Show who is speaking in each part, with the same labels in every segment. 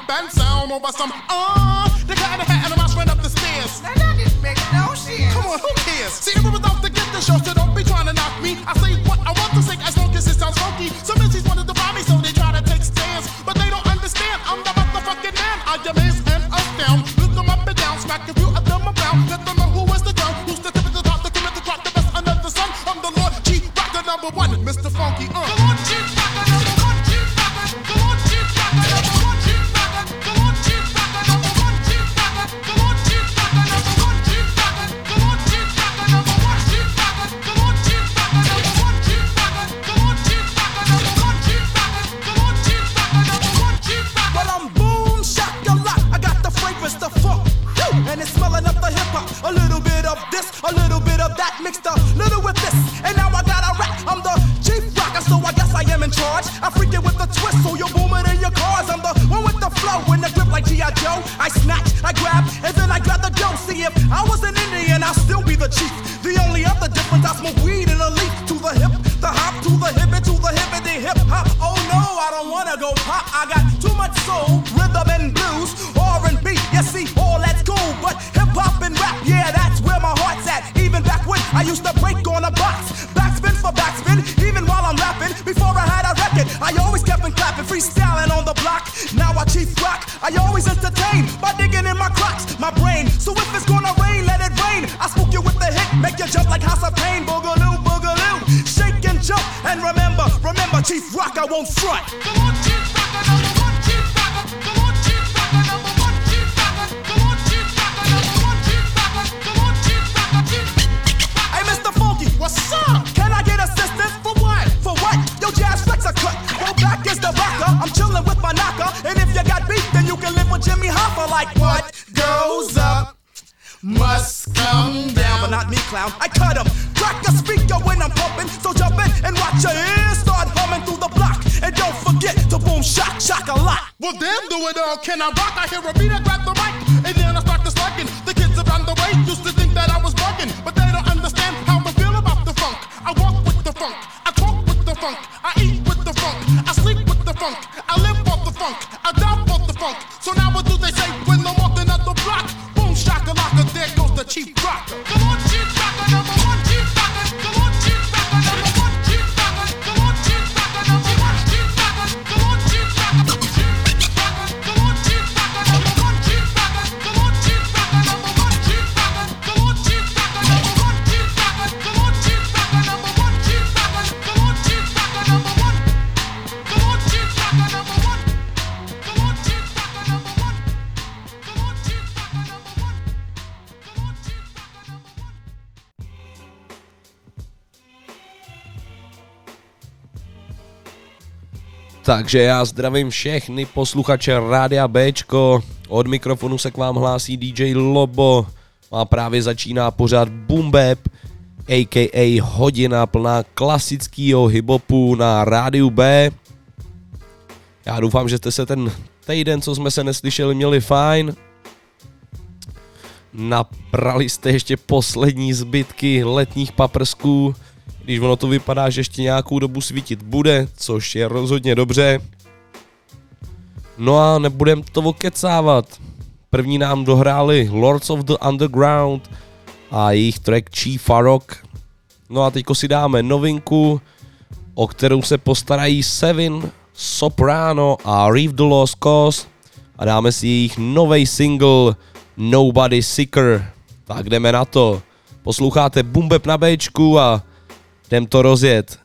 Speaker 1: and sound over some, the cat in the hat and the mouse ran up the stairs.
Speaker 2: Now that didn't make no sense.
Speaker 1: Come on, who cares? See, everyone's out to get the show, so don't be trying to knock me. I say what I want to say as long as it sounds funky. Some MCs wanted to buy me, so they try to take stands. But they don't understand, I'm the motherfucking man. I amaze and astound. Look them up and down, smack a few of them around. Let them know who is the ground, who's the tip of the top, the commit the drop, the best under the sun. I'm the Lord Chief Rocker number one, Mr. Funky. The Lord Chief Rocker number one, Chief Rocker. The Lord Chief Rocker number one, Chief Rocker. The Lord Chief Rocker number one, Chief Rocker. The Lord Chief Rocker number one, Chief Rocker. The Lord Chief Rocker number one, Chief Rocker. The Lord Chief Rocker number one, Chief Rocker. The Lord Chief Rocker number one, Chief Rocker. The Lord Chief Rocker number one, Chief Rocker.
Speaker 3: Well, I'm boom shakalaka. I got the fragrance, the funk, and it's smelling up the hip hop. A little bit of this, a little bit of that, mixed a little with this, and now I got a rap. I'm the chief rocker, so I guess I am in charge. I freak it with the twist, so you're booming in your cars. I'm the one with the flow, in the grip like G.I. Joe. I snatch, I grab, and then I grab the dough. See, if I was an Indian, I'll still be the chief. The only other difference, I smoke weed in a leaf. To the hip, the hop, to the hippity hip hop. Oh no, I don't wanna go pop. I got too much soul, rhythm and blues, R&B. You see, all that's cool, but hip hop and rap, yeah, that's where my heart's at. Even back when I used to break on a box, backspin for backspin, even while I'm rapping. Before I had a record, I always kept on clapping, freestyling on the block. Now I chief rock, I always entertain by digging in my crotch, my brain. So if it's gonna rain, let it rain. I spook you with the hit, make you jump like House of Pain. Boogaloo, boogaloo, shake and jump. And remember, Chief Rock, I won't front.
Speaker 1: Come on, Chief Rocker, number one, Chief Rocker. Come on, Chief Rocker, number one, Chief Rocker. Come on, Chief Rocker, number one, Chief Rocker. Come on, Chief Rocker, Chief Rocker.
Speaker 3: Hey, Mr. Funky,
Speaker 1: what's up?
Speaker 3: Can I get assistance? For what? For what? Yo, Jazz Flex a cut. Go back is the rocker. I'm chilling with my knocker. And if you got beef, then you can live with Jimmy Hoffa. Like what goes up must come down. But not me, clown. I cut him. Crack a speaker when I'm pumping. So jump in and watch your ears start humming through the block. And don't forget to boom, shock, shock a lot.
Speaker 1: Well, damn, do it all. Can I rock? I hear a beat, I grab the mic. And then I start to slacking. The kids around the way used to think that I was bugging. But they don't understand how I feel about the funk. I walk with the funk. I talk with the funk. I eat with the funk. I sleep with the funk. I live off the funk. I die off the funk. So now what do they say when I'm walking out the block? Boom, shakalaka, there goes the Chief Rocker. Come on, Chief Rocker, number one, Chief Rocker. Come on, Chief Rocker, number one, Chief Rocker. Come on, Chief Rocker, number one, Chief Rocker. Come on, Chief Rocker, come on, Chief Rocker, number one, Chief Rocker. Come on, Chief Rocker, number one, Chief Rocker. Come on, Chief Rocker, number one, Chief Rocker. Come on, Chief Rocker, number one, Chief Rocker. Come on, Chief Rocker, number one. Come on, Chief Rocker, number one. Come on, Chief Rocker, number one. Come on, Chief Rocker, number one.
Speaker 4: Takže já zdravím všechny posluchače Rádia Bčko, od mikrofonu se k vám hlásí DJ Lobo, a právě začíná pořád Boom Bap, a.k.a. hodina plná klasického hiphopu na Rádiu B. Já doufám, že jste se ten týden, co jsme se neslyšeli, měli fajn. Naprali jste ještě poslední zbytky letních paprsků, když ono to vypadá, že ještě nějakou dobu svítit bude, což je rozhodně dobře. No a nebudem to okecávat. První nám dohráli Lords of the Underground a jejich track Chief Rock. No a teďko si dáme novinku, o kterou se postarají Seven, Soprano a Reef the Lost Cause, a dáme si jejich novej single Nobody Sicker. Tak jdeme na to. Posloucháte Boom Bap na Bčku a jdem to rozjet.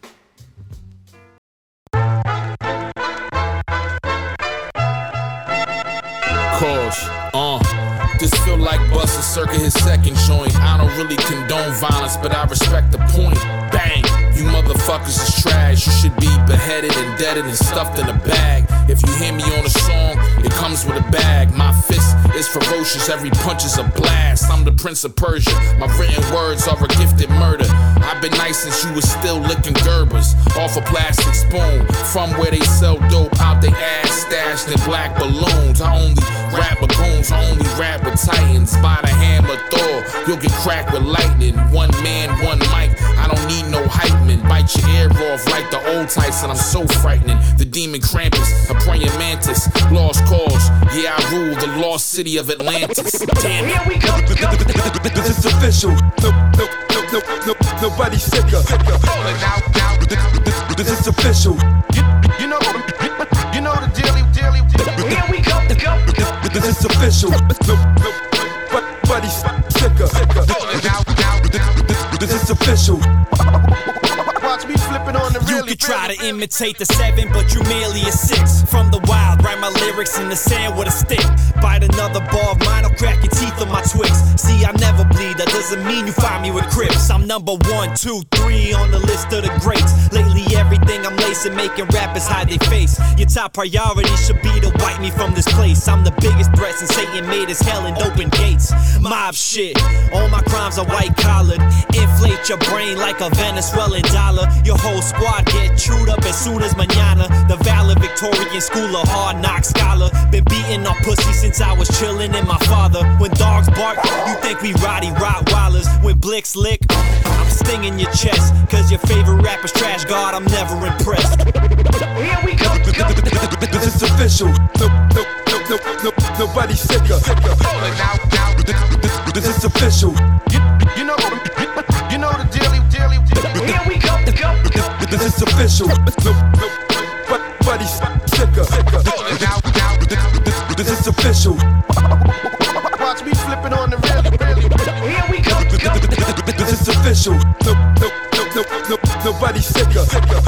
Speaker 5: This feel like Busta Circa his second joint. I don't really condone violence, but I respect the point. Bang! You motherfuckers is trash. You should be beheaded and deaded and stuffed in a bag. If you hear me on a song, it comes with a bag. My fist is ferocious, every punch is a blast. I'm the Prince of Persia, my written words are a gifted murder. I've been nice since you was still licking Gerbers off a plastic spoon. From where they sell dope out they ass stashed in black balloons. I only rap with goons, I only rap with titans. By the hammer Thor, you'll get cracked with lightning. One man, one mic, I don't need no hype man. Bite your ear off like the old bone Tyson, I'm so frightening. The demon Krampus, a praying mantis. Lost cause, yeah, I rule the lost city of Atlantis. Damn it.
Speaker 6: Here we go.
Speaker 7: This is official. Nobody sicker. This is official.
Speaker 6: You know the dealy. Here we go.
Speaker 7: This is official. Nobody sicker. This is official.
Speaker 6: Watch me flipping on the
Speaker 8: You
Speaker 6: really.
Speaker 8: could try to imitate the 7, but you merely a 6. From the wild, write my lyrics in the sand with a stick. Bite another bar of mine, I'll crack your teeth on my twigs. See, I never bleed, that doesn't mean you find me with Crips. I'm number 1, 2, 3 on the list of the greats. Lately everything I'm lacing, making rappers hide their face. Your top priority should be to wipe me from this place. I'm the biggest threat since Satan made his hell and open gates. Mob shit, all my crimes are white collared. Inflate your brain like a Venezuelan dollar. Your whole squad get chewed up as soon as mañana. The valid Victorian school of hard knock scholar. Been beating on pussy since I was chillin' in my father. When dogs bark, you think we roddy Rottweilers. When blicks lick, I'm stinging your chest. Cause your favorite rapper's trash, God, I'm never impressed.
Speaker 6: Here we go.
Speaker 7: This is official. Nobody sicker. This is official.
Speaker 6: You know the dealy. Here we go.
Speaker 7: This is official. Nobody sicker. This is official.
Speaker 6: Watch me flipping on the really. Here we go.
Speaker 7: This is official. Nobody sicker.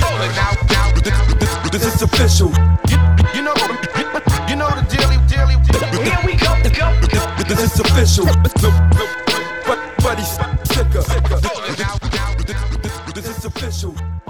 Speaker 7: This is official.
Speaker 6: You know the dealy. Here we go.
Speaker 7: This is official. Nobody sicker. This is official.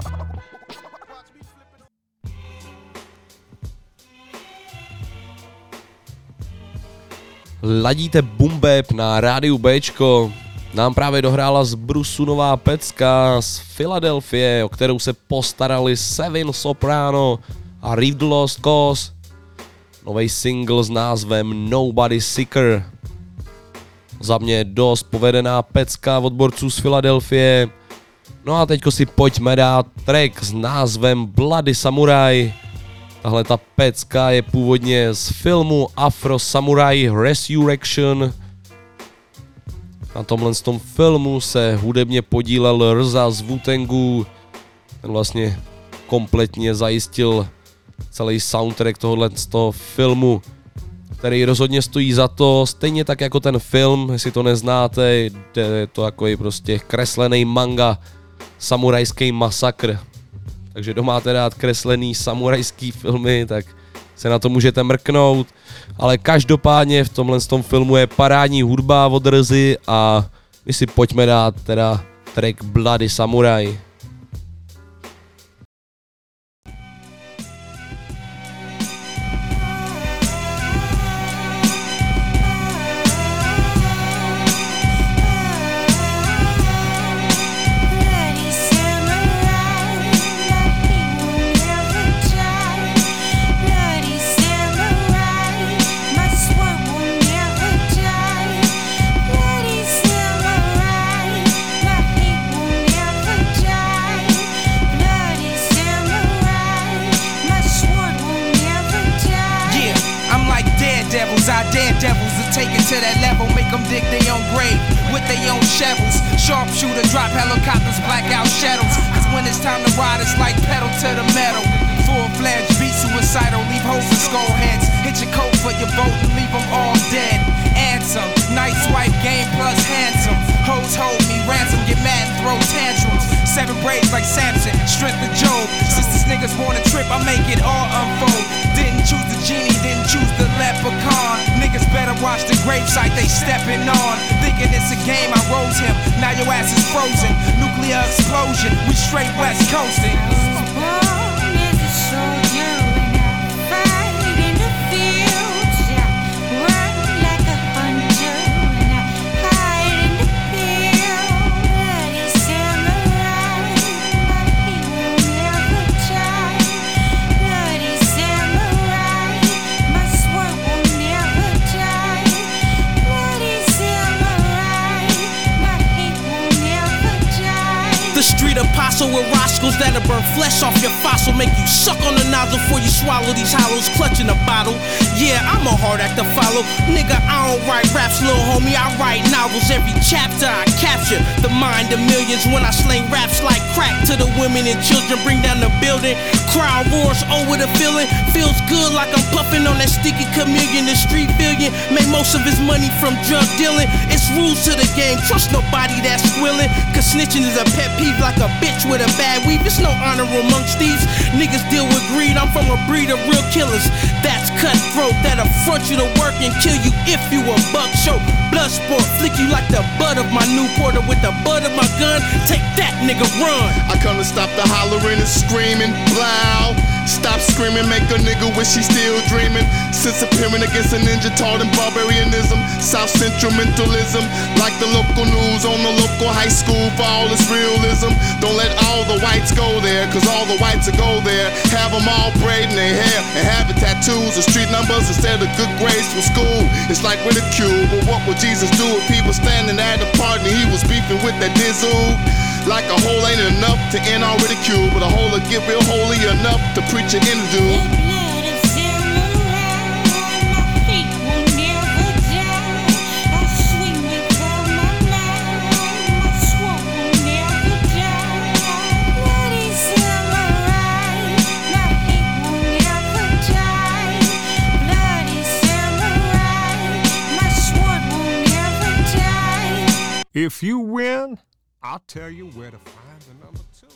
Speaker 4: Ladíte Boom Bap na rádiu Bčko. Nám právě dohrála z Brusu nová pecka z Filadelfie, o kterou se postarali Seven Soprano a Reef the Lost Cause. Nový single s názvem Nobody Sicker. Za mě dost povedená pecka od borců z Filadelfie. No a teďko si pojďme dát track s názvem Bloody Samurai. Tahle ta pecka je původně z filmu Afro Samurai Resurrection. Na tomhle filmu se hudebně podílel RZA z Wu-Tangu. Ten vlastně kompletně zajistil celý soundtrack tohohle z toho filmu, který rozhodně stojí za to, stejně tak jako ten film, jestli to neznáte, je to takový prostě kreslený manga, samurajský masakr. Takže kdo máte rád kreslený samurajský filmy, tak se na to můžete mrknout. Ale každopádně v tomhle filmu je parádní hudba od RZY a my si pojďme dát teda track Bloody Samurai.
Speaker 2: To that level, make them dig their own grave with their own shovels. Sharpshooter, drop helicopters, blackout shadows. Cause when it's time to ride, it's like pedal to the metal. Full-fledged, beat suicidal, leave holes in skull heads. Hit your coat for your vote and leave them all dead. Answer, nice white game plus handsome. Hoes hold me ransom, get mad and throw tantrums. 7 braids like Samson, strength of Job. Since this niggas want a trip, I make it all unfold. Didn't choose the genie, didn't choose the leprechaun. Niggas better watch the gravesite they stepping on. Thinking it's a game, I rose him. Now your ass is frozen. Nuclear explosion, we straight west coasting.
Speaker 9: apostle with Roscoe's that'll burn flesh off your fossil, make you suck on the nozzle before you swallow these hollows, clutching a bottle. Yeah, I'm a hard act to follow. Nigga, I don't write raps, little homie, I write novels. Every chapter I capture the mind of millions when I sling raps like crack to the women and children, bring down the building. Crowd roars over the feeling, feels good like I'm puffing on that sticky chameleon. The street billion made most of his money from drug dealing. It's rules to the game, trust nobody that's squilling, cause snitching is a pet peeve like a bitch with a bad weave. It's no honor amongst these niggas deal with greed. I'm from a breed of real killers that's cutthroat, that'll front you to work and kill you if you a buck. Show blood sport, flick you like the butt of my Newporter with the butt of my gun. Take that, nigga, run.
Speaker 1: I come to stop the hollering and screaming, blow. Stop screaming, make a nigga wish he's still dreaming. Since appearing against a ninja taught in barbarianism, South Central mentalism, like the local news on the local high school for all its realism. Don't let all the whites go there, cause all the whites will go there. Have them all braiding their hair and having tattoos or street numbers instead of good grades from school. It's like ridicule, but what would Jesus do if he was standing at a party and he was beefing with that dizzle? Like a hole ain't enough to end all ridicule, but a hole will get real holy enough to preach an interview.
Speaker 10: If you win, I'll tell you where to find the number 2.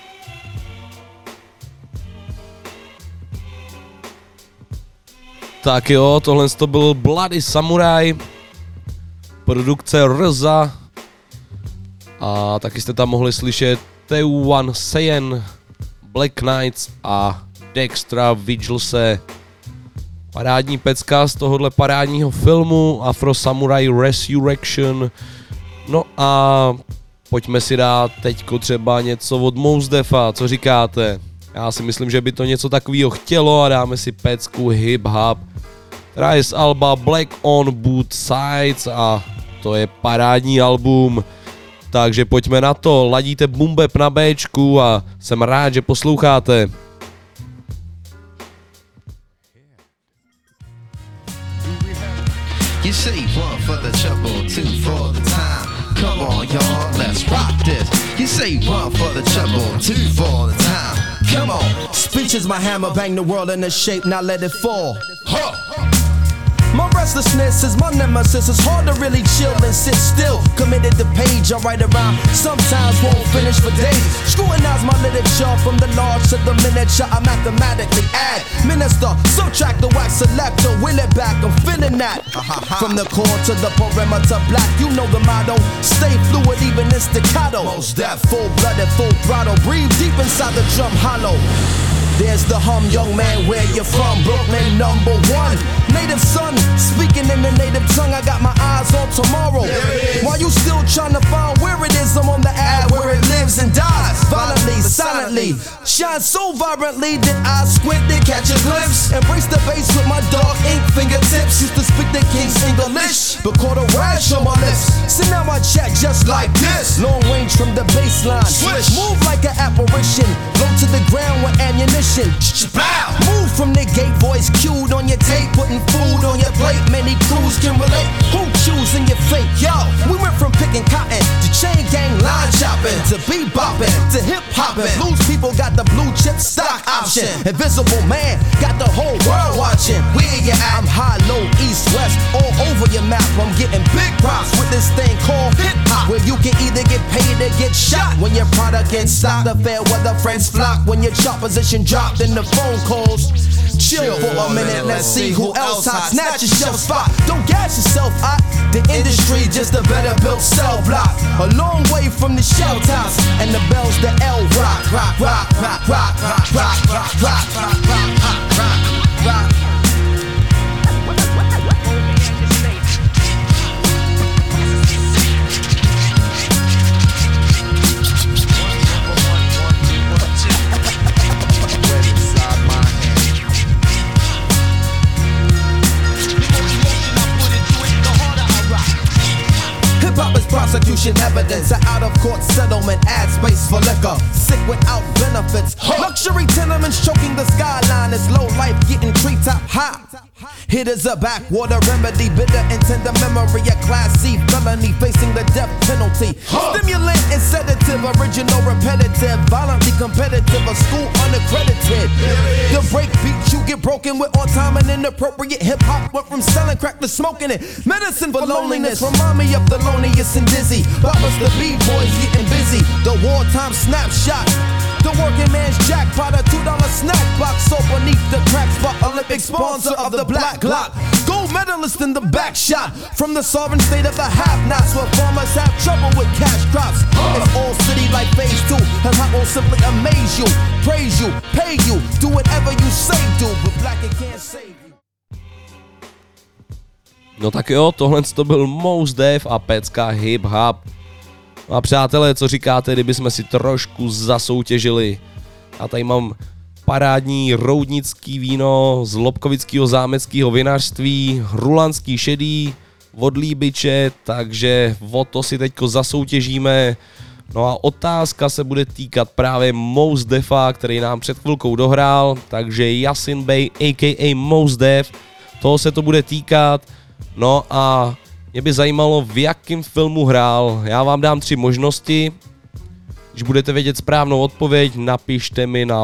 Speaker 4: Tak jo, tohle to byl Bloody Samurai, produkce RZA a taky jste tam mohli slyšet Taewon Seiyan, Black Knights a Dextra Vigilse. Parádní pecka z tohohle parádního filmu Afro Samurai Resurrection. No a pojďme si dát teďko třeba něco od Mos Defa, co říkáte? Já si myslím, že by to něco takového chtělo a dáme si pecku Hip Hop, která je z alba Black on Both Sides a to je parádní album. Takže pojďme na to, ladíte Boom Bap na Bčku a jsem rád, že posloucháte.
Speaker 11: You say 1 for the trouble, 2 for the time. Come on, y'all, let's rock this. You say 1 for the trouble, 2 for the time. Come on.
Speaker 3: Speech is my hammer, bang the world into shape, now let it fall. My restlessness is my nemesis. It's hard to really chill and sit still. Committed to page, I write around. Sometimes won't finish for days. Scrutinize my literature from the large to the miniature. I mathematically add, minister, subtract the wax selector, will it back. I'm feeling that. From the core to the perimeter, black. You know the motto. Stay fluid, even in staccato. Most that full-blooded, full throttle. Breathe deep inside the drum hollow. There's the hum, young man, where you from? Brooklyn, number 1. Native son, speaking in the native tongue. I got my eyes on tomorrow. While you still trying to find where it is, I'm on the ad where it lives and dies. Violently, silently, shine so vibrantly that I squint to catch a glimpse. Embrace the bass with my dark ink fingertips. Used to speak the King's English, but caught a rash on my lips. So now I chat just like this. Long range from the baseline. Switch. Move like an apparition. Go to the ground with ammunition. Move from the gate, voice cued on your tape, putting food on your plate. Many crews can relate. Who choosing your fate? Yo, we went from picking cotton to chain gang line chopping to bebopping to hip hopping. Blues people got the blue chip stock option. Invisible man got the whole world watching. Where you at? I'm high, low, east, west, all over your map. I'm getting big props with this thing called hip hop, where you can either get paid or get shot. When your product gets stopped, the fair weather friends flock. When your chart position dropped in the phone calls. Chill for a minute, let's see who else hot. Snatch your shelf spot, don't gas yourself hot. The industry just a better built cell block. A long way from the shell tops and the bells, the L rock, rock, rock, rock, rock, rock, rock, rock, rock, rock, rock, rock, rock. prosecution evidence. An out-of-court settlement, add space for liquor. Sick without benefits. Luxury tenements choking the skyline. It's low life getting treetop high. It is a backwater remedy, bitter and tender memory. A class C felony facing the death penalty. Stimulant and sedative, original repetitive, violently competitive, a school unaccredited. The break beat you get broken with on time and inappropriate hip hop. Went from selling crack to smoking it. Medicine for loneliness, remind me of the loneliest and dizzy. Boppers the B-boys getting busy. The wartime snapshot. The working man's jackpot, a $2 snack box. So beneath the crack spot, Olympic sponsor of the Black Glock. Gold medalist in the back shot. From the sovereign state of the have-nots, where farmers have trouble with cash crops. It's all city like phase 2. And I will simply amaze you, praise you, pay you, do whatever you say do. But black it can't save you.
Speaker 4: No tak jo, tohle to byl Mos Def a pecka Hip Hop. A přátelé, co říkáte, kdyby jsme si trošku zasoutěžili? Já tady mám parádní roudnický víno z Lobkovického zámeckého vinařství, rulanský šedý, od Líbiče, takže o to si teďko zasoutěžíme. No a otázka se bude týkat právě Mos Defa, který nám před chvilkou dohrál, takže Yasin Bey a.k.a. Mos Def, toho se to bude týkat. No a mě by zajímalo, v jakém filmu hrál. Já vám dám 3 možnosti. Když budete vědět správnou odpověď, napište mi na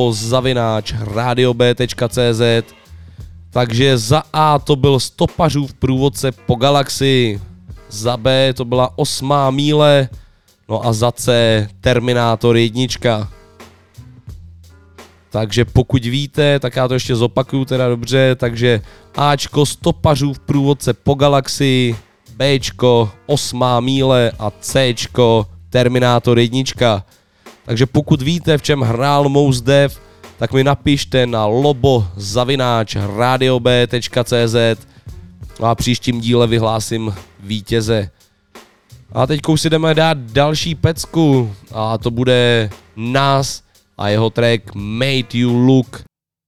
Speaker 4: lobo@radiob.cz. Takže za A to byl Stopařův průvodce po galaxii, za B to byla 8. míle, no a za C Terminátor 1. Takže pokud víte, tak já to ještě zopakuju teda dobře, takže Ačko Stopařův průvodce po galaxii, Bčko 8. míle a Cčko Terminátor 1. Takže pokud víte, v čem hrál Mos Def, tak mi napište na lobo@radiob.cz a příštím díle vyhlásím vítěze. A teď si jdeme dát další pecku a to bude Nas a jeho track Made You Look.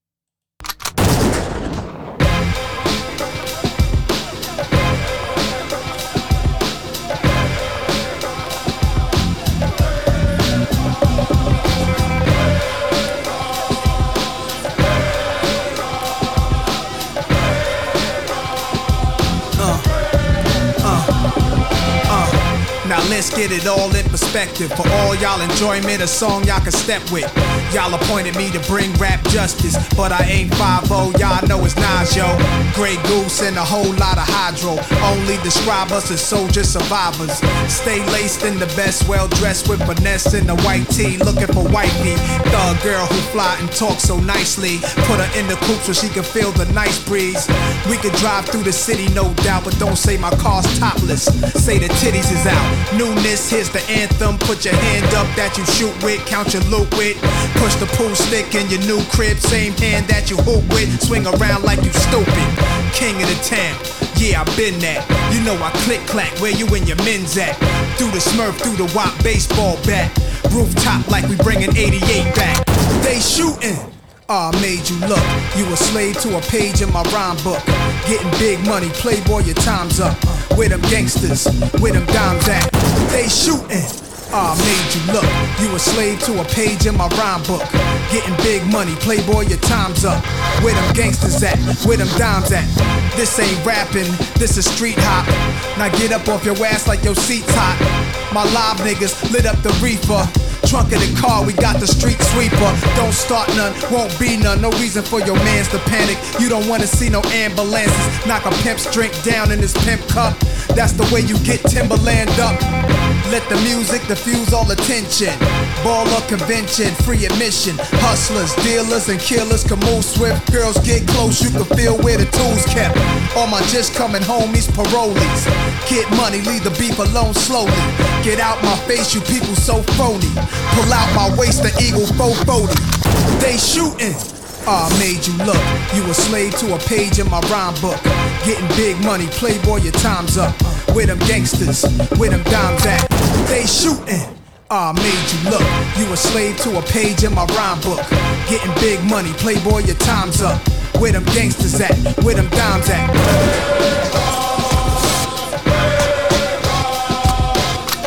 Speaker 12: Let's get it all in perspective. For all y'all enjoyment, a song y'all can step with. Y'all appointed me to bring rap justice, but I ain't 5-0, y'all know it's Nas, yo. Grey Goose and a whole lot of hydro. Only describe us as soldier survivors. Stay laced in the best, well dressed with finesse in the white tee, looking for wifey. Thug girl who fly and talk so nicely. Put her in the coupe so she can feel the nice breeze. We could drive through the city, no doubt, but don't say my car's topless. Say the titties is out. Newness, here's the anthem. Put your hand up that you shoot with, count your loot with. Push the pool stick in your new crib, same hand that you hoop with. Swing around like you stupid. King of the town, yeah, I been that. You know I click clack, where you and your men's at? Through the Smurf, through the WAP baseball bat. Rooftop like we bringing 88 back. They shooting. I made you look. You a slave to a page in my rhyme book. Getting big money, playboy, your time's up. Where them gangsters, where them dimes at? They shooting. I made you look. You a slave to a page in my rhyme book. Getting big money, playboy, your time's up. Where them gangsters at? Where them dimes at? This ain't rapping, this is street hop. Now get up off your ass like your seat's hot. My live niggas lit up the reefer. Trunk of the car, we got the street sweeper. Don't start none, won't be none. No reason for your mans to panic. You don't wanna see no ambulances. Knock a pimp's drink down in his pimp cup. That's the way you get Timberland up. Let the music diffuse all attention. Baller convention, free admission. Hustlers, dealers, and killers can move swift. Girls get close, you can feel where the tools kept. All my just coming homies, parolees. Get money, leave the beef alone slowly. Get out my face, you people so phony. Pull out my waist, the Eagle 440. They shooting. I made you look. You a slave to a page in my rhyme book. Getting big money, playboy, your time's up. Where them gangsters, where them dimes at? They shooting. I made you look. You a slave to a page in my rhyme book. Getting big money, playboy, your time's up. Where them gangsters at? Where them dimes at?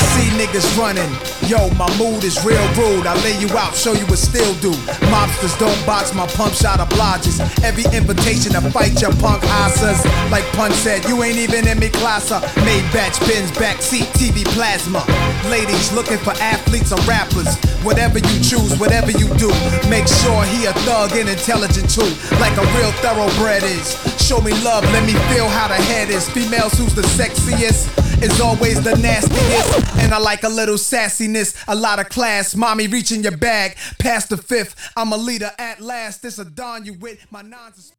Speaker 12: see niggas running. Yo, my mood is real rude. I lay you out, show you what still do. Mobsters don't box, my pump shot obliges. Every invitation to fight your punk asses. Like Pun said, you ain't even in me class. Made batch pins, backseat, TV plasma. Ladies looking for athletes or rappers. Whatever you choose, whatever you do, make sure he a thug and intelligent too. Like a real thoroughbred is. Show me love, let me feel how the head is. Females who's the sexiest is always the nastiest. And I like a little sassiness, a lot of class. Mommy reaching your bag, past the fifth. I'm a leader at last, this a dawn you with my nonsense.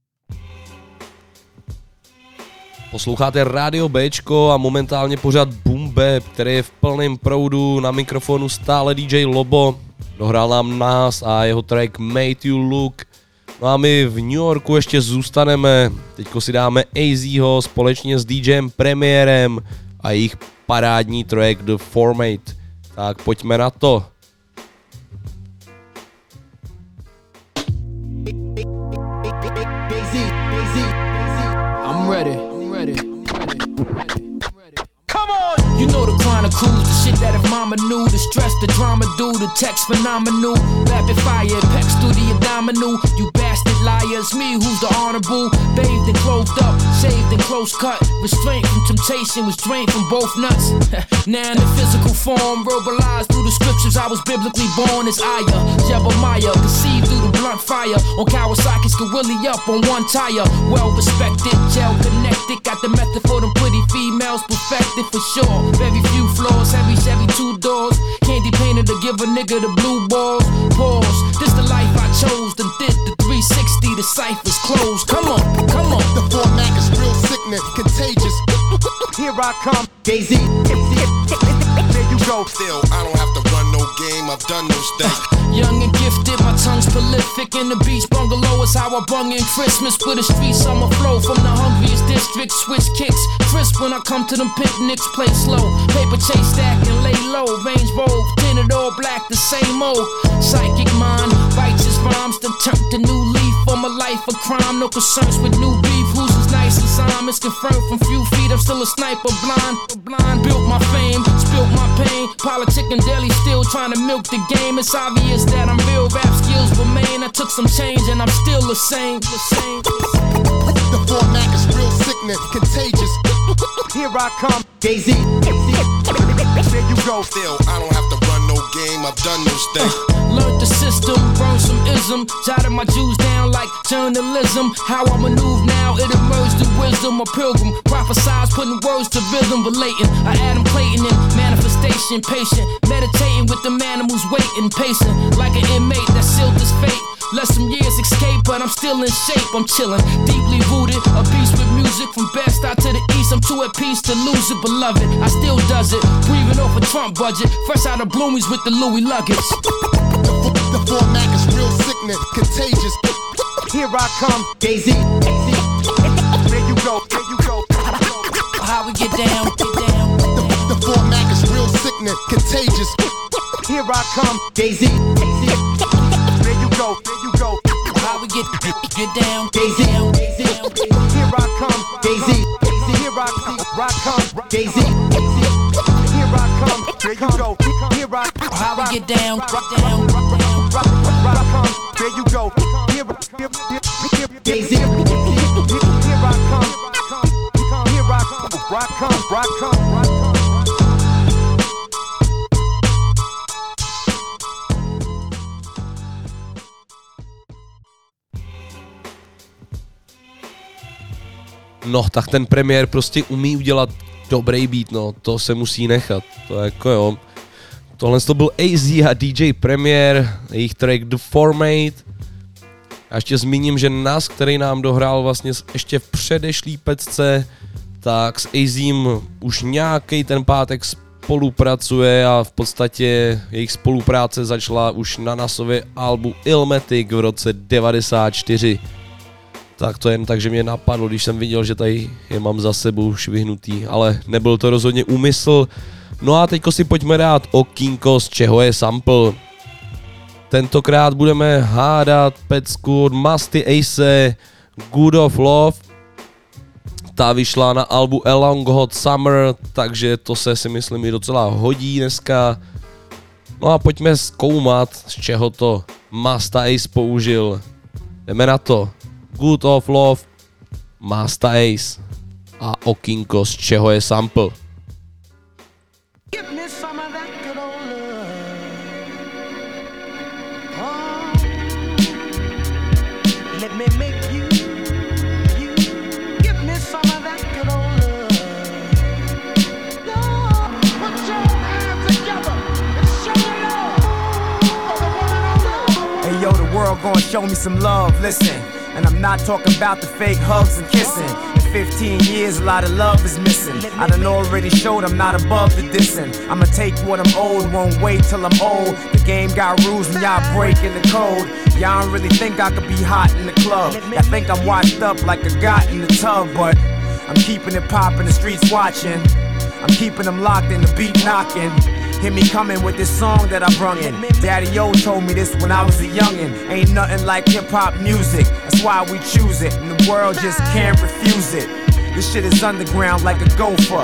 Speaker 4: Posloucháte Radio Bčko a momentálně pořad Boom Bap, který je v plném proudu, na mikrofonu stále DJ Lobo. Dohrál nám nás a jeho track Made You Look. No a my v New Yorku ještě zůstaneme. Teďko si dáme AZho společně s DJem Premiérem a jejich parádní track The Format. Tak pojďme na to.
Speaker 13: I'm ready. Come on! You know the chronicles, the shit that if mama knew, the stress, the drama do, the text phenomenal, rapid fire, pecs through the abdominal, you bastard liars, me who's the honorable, bathed and clothed up, shaved and close cut, restraint from temptation was drained from both nuts. Now in the physical form, verbalized through the scriptures, I was biblically born as Aya, Jebemiah, conceived through the blunt fire, on Kawasaki's Gorilla up on one tire, well respected, gel connected, got the method for them pretty females perfected for sure. Very few floors, heavy Chevy 2 doors, candy painted to give a nigga the blue balls. Pause, this the life I chose, then did the 360, the ciphers closed. Come on.
Speaker 6: The format is real sickness, contagious. Here I come, Jay-Z. There you go.
Speaker 14: Still, I don't have to run no game, I've done those things.
Speaker 13: Young and gifted, my tongue's prolific. In the beach bungalow is how I bung in Christmas. With a street summer flow from the hungriest district. Switch kicks, crisp when I come to them picnics. Play slow, paper chase stack and lay low. Range Rover, tinted all black, the same old. Psychic mind, righteous rhymes, then turned a new leaf on my life of crime. No concerns with new beef, who's as nice as I'm. It's confirmed from few feet, I'm still a sniper blind. Built my fame, spilt my pain. Politic and daily still trying to milk the game. It's obvious that I'm real, rap skills remain. I took some change and I'm still the same.
Speaker 6: The format is real sickness, contagious. Here I come, Jay-Z. There you go.
Speaker 14: Still, I don't have to run no game, I've done those things.
Speaker 13: Learned the system, burned some ism, jotted my Jews down like journalism. How I maneuver now, it emerged in wisdom. A pilgrim, prophesize, putting words to rhythm, relating. I Adam Clayton in manifestation, patient, meditating with the animals waiting, pacing like an inmate that sealed his fate. Let some years escape, but I'm still in shape. I'm chilling, deeply rooted, a beast with music from Bed-Stuy to the east. I'm too at peace to lose it, beloved. I still does it, breathing off a Trump budget, fresh out of Bloomies with the Louis luggage.
Speaker 6: The format is real sickness, contagious. Here I come, Jay-Z. There you go.
Speaker 13: How we get down,
Speaker 6: The format is real sickness, contagious. Here I come, Jay-Z. There you go.
Speaker 13: How we get down,
Speaker 6: Jay-Z. Here I come, Jay-Z. Here I come, Jay-Z. Here I come, there you go. Here I come,
Speaker 13: how we get down,
Speaker 6: there you go. Jay-Z. Here I come.
Speaker 4: No, tak ten Premiér prostě umí udělat dobrý beat, no, to se musí nechat, to jako jo. Tohle to byl AZ a DJ Premiér, jejich track The Format. A ještě zmíním, že Nas, který nám dohrál vlastně ještě v předešlý pecce, tak s AZím už nějaký ten pátek spolupracuje a v podstatě jejich spolupráce začala už na Nasově albu Illmatic v roce 94. Tak to jen tak, že mě napadlo, když jsem viděl, že tady je mám za sebou švihnutý, ale nebyl to rozhodně úmysl. No a teďko si pojďme dát okýnko, z čeho je sample. Tentokrát budeme hádat pecku od Musty Ace, Good of Love. Ta vyšla na albu A Long Hot Summer, takže to se si myslím i docela hodí dneska. No a pojďme zkoumat, z čeho to Masta Ace použil. Jdeme na to. Good of Love, Masta Ace a okýnko, z čeho je sample.
Speaker 3: Give me some of that good old love. Oh, let me make you. Give me some of that good old love. Lord, put your hands together and show love for the one and only.
Speaker 12: Hey yo, the world gonna show me some love, listen. And I'm not talking about the fake hugs and kissing. In 15 years, a lot of love is missing. I done already showed I'm not above the dissing. I'ma take what I'm owed, won't wait till I'm old. The game got rules and y'all breaking the code. Y'all don't really think I could be hot in the club. Y'all think I'm washed up like a got in the tub, but I'm keeping it poppin', the streets watching. I'm keeping them locked in the beat knocking. Hear me coming with this song that I brung in. Daddy O told me this when I was a youngin'. Ain't nothing like hip-hop music. That's why we choose it, and the world just can't refuse it. This shit is underground like a gopher.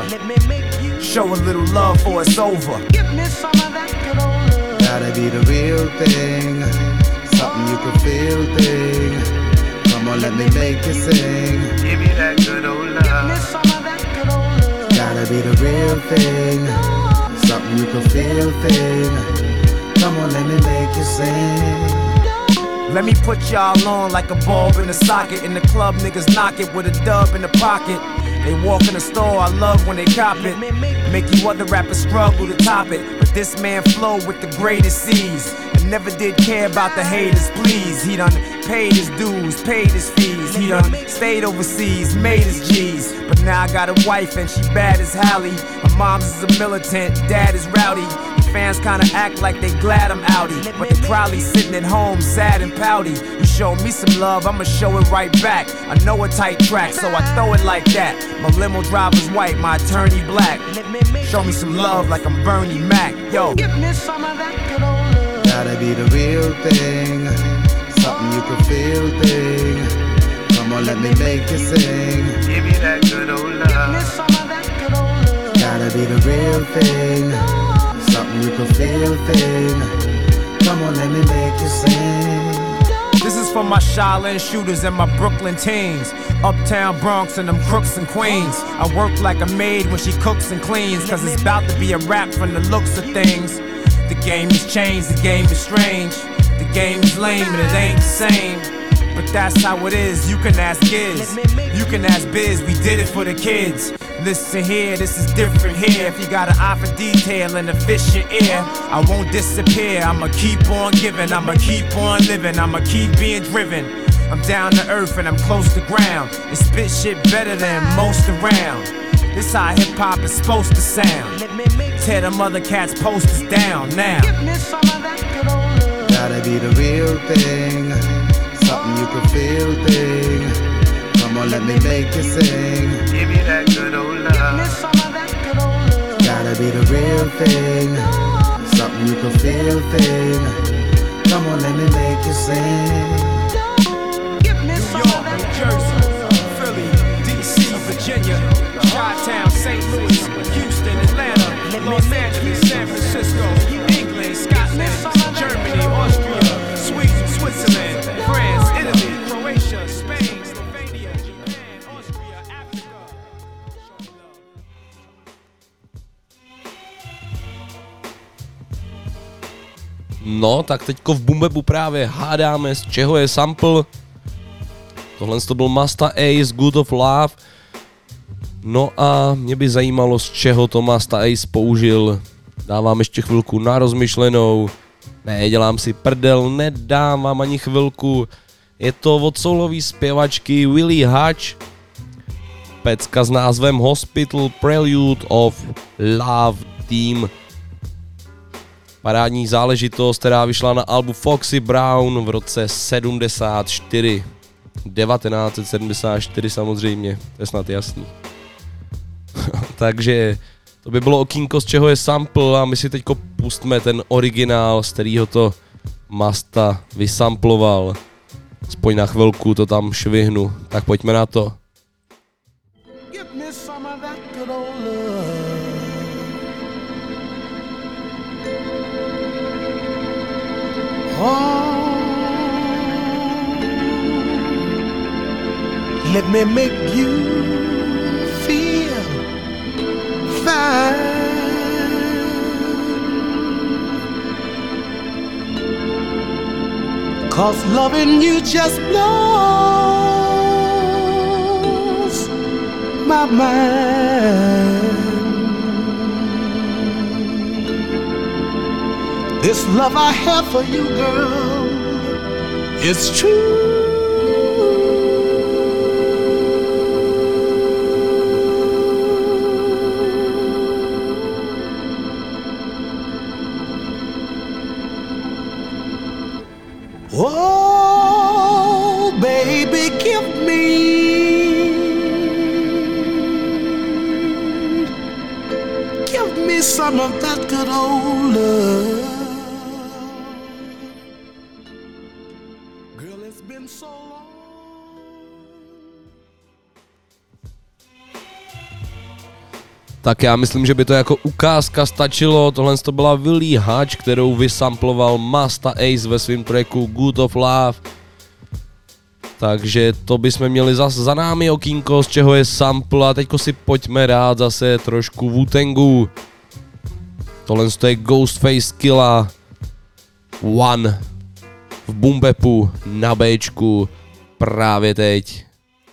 Speaker 12: Show a little love for it's over.
Speaker 3: Give me some of that good old love.
Speaker 11: Gotta be the real thing, something you can feel thing. Come on, let me make you sing. Give me that good old love.
Speaker 3: Give me some of that good old love.
Speaker 11: Gotta be the real thing, something you can feel thing. Come on, let me make you sing.
Speaker 12: Let me put y'all on like a bulb in a socket. In the club, niggas knock it with a dub in the pocket. They walk in the store, I love when they cop it. Make you other rappers struggle to top it. But this man flow with the greatest C's. And never did care about the haters, please. He done paid his dues, paid his fees. He done stayed overseas, made his G's. But now I got a wife and she bad as Hallie. Her mom's is a militant, dad is rowdy. Fans kinda act like they glad I'm outie, but they probably sitting at home sad and pouty. You show me some love, I'ma show it right back. I know a tight track, so I throw it like that. My limo driver's white, my attorney black. Show me some love like I'm Bernie Mac, yo.
Speaker 3: Give me some of that good old love.
Speaker 11: Gotta be the real thing, something you can feel thing. Come on, let me make you sing. Give me that good old love.
Speaker 3: Give me some of that good old love.
Speaker 11: Gotta be the real thing, something you can feel thing. Come on, let me make you sing.
Speaker 12: This is for my Shaolin shooters and my Brooklyn teens. Uptown Bronx and them crooks and queens. I work like a maid when she cooks and cleans. Cause it's about to be a rap from the looks of things. The game has changed, the game is strange. The game is lame and it ain't the same. But that's how it is, you can ask Giz. You can ask Biz, we did it for the kids. Listen here, this is different here. If you got an eye for detail and a fish in ear, I won't disappear. I'ma keep on giving, I'ma keep on living, I'ma keep being driven. I'm down to earth and I'm close to ground. And spit shit better than most around. This how hip-hop is supposed to sound. Tear them other cats' posters down now.
Speaker 3: Give me some of that good old love.
Speaker 11: Gotta be the real thing, something you can feel thing. Come on, let me make you sing. Give me that good old love.
Speaker 3: Give me some of that good old love.
Speaker 11: Gotta be the real thing, something you can feel thing. Come on, let me make you sing.
Speaker 3: Give me some of that
Speaker 12: New Jersey, Philly, DC, Virginia, Chi-Town, St. Louis, Houston, Atlanta, Los Angeles, San Francisco, England, Scotland, Germany, Austria, Sweden, Switzerland, France, Italy, Croatia, Spain, Slovenia, Japan, Austria, Africa.
Speaker 4: No, tak teďko v Bumbebu právě hádáme, z čeho je sample. Tohle to byl Masta Ace, Good of Love. No a mě by zajímalo, z čeho to Masta Ace použil. Dávám ještě chvilku na rozmyšlenou. Ne, dělám si prdel, nedám vám ani chvilku. Je to od soulový zpěvačky Willie Hutch. Pecka s názvem Hospital Prelude of Love Team. Parádní záležitost, která vyšla na albu Foxy Brown v roce 74. 1974 samozřejmě, to je snad jasný. Takže to by bylo okýnko, z čeho je sample a my si teďko pustíme ten originál, z kterého to Masta vysamploval. Aspoň na chvilku to tam švihnu, tak pojďme na to.
Speaker 3: Let me make you feel fine. 'Cause loving you just blows my mind. This love I have for you, girl, it's true. Oh, baby, give me some of that good old love. Girl, it's been so long.
Speaker 4: Tak já myslím, že by to jako ukázka stačilo. Tohle to byla Willie Hutch, kterou vysamploval Masta Ace ve svém tracku Good of Love. Takže to bychom měli zase za námi okýnko, z čeho je sample, a teďko si pojďme dát zase trošku Wu-Tangu. Tohle je Ghostface Killah One v Boom Bapu na Bčku právě teď.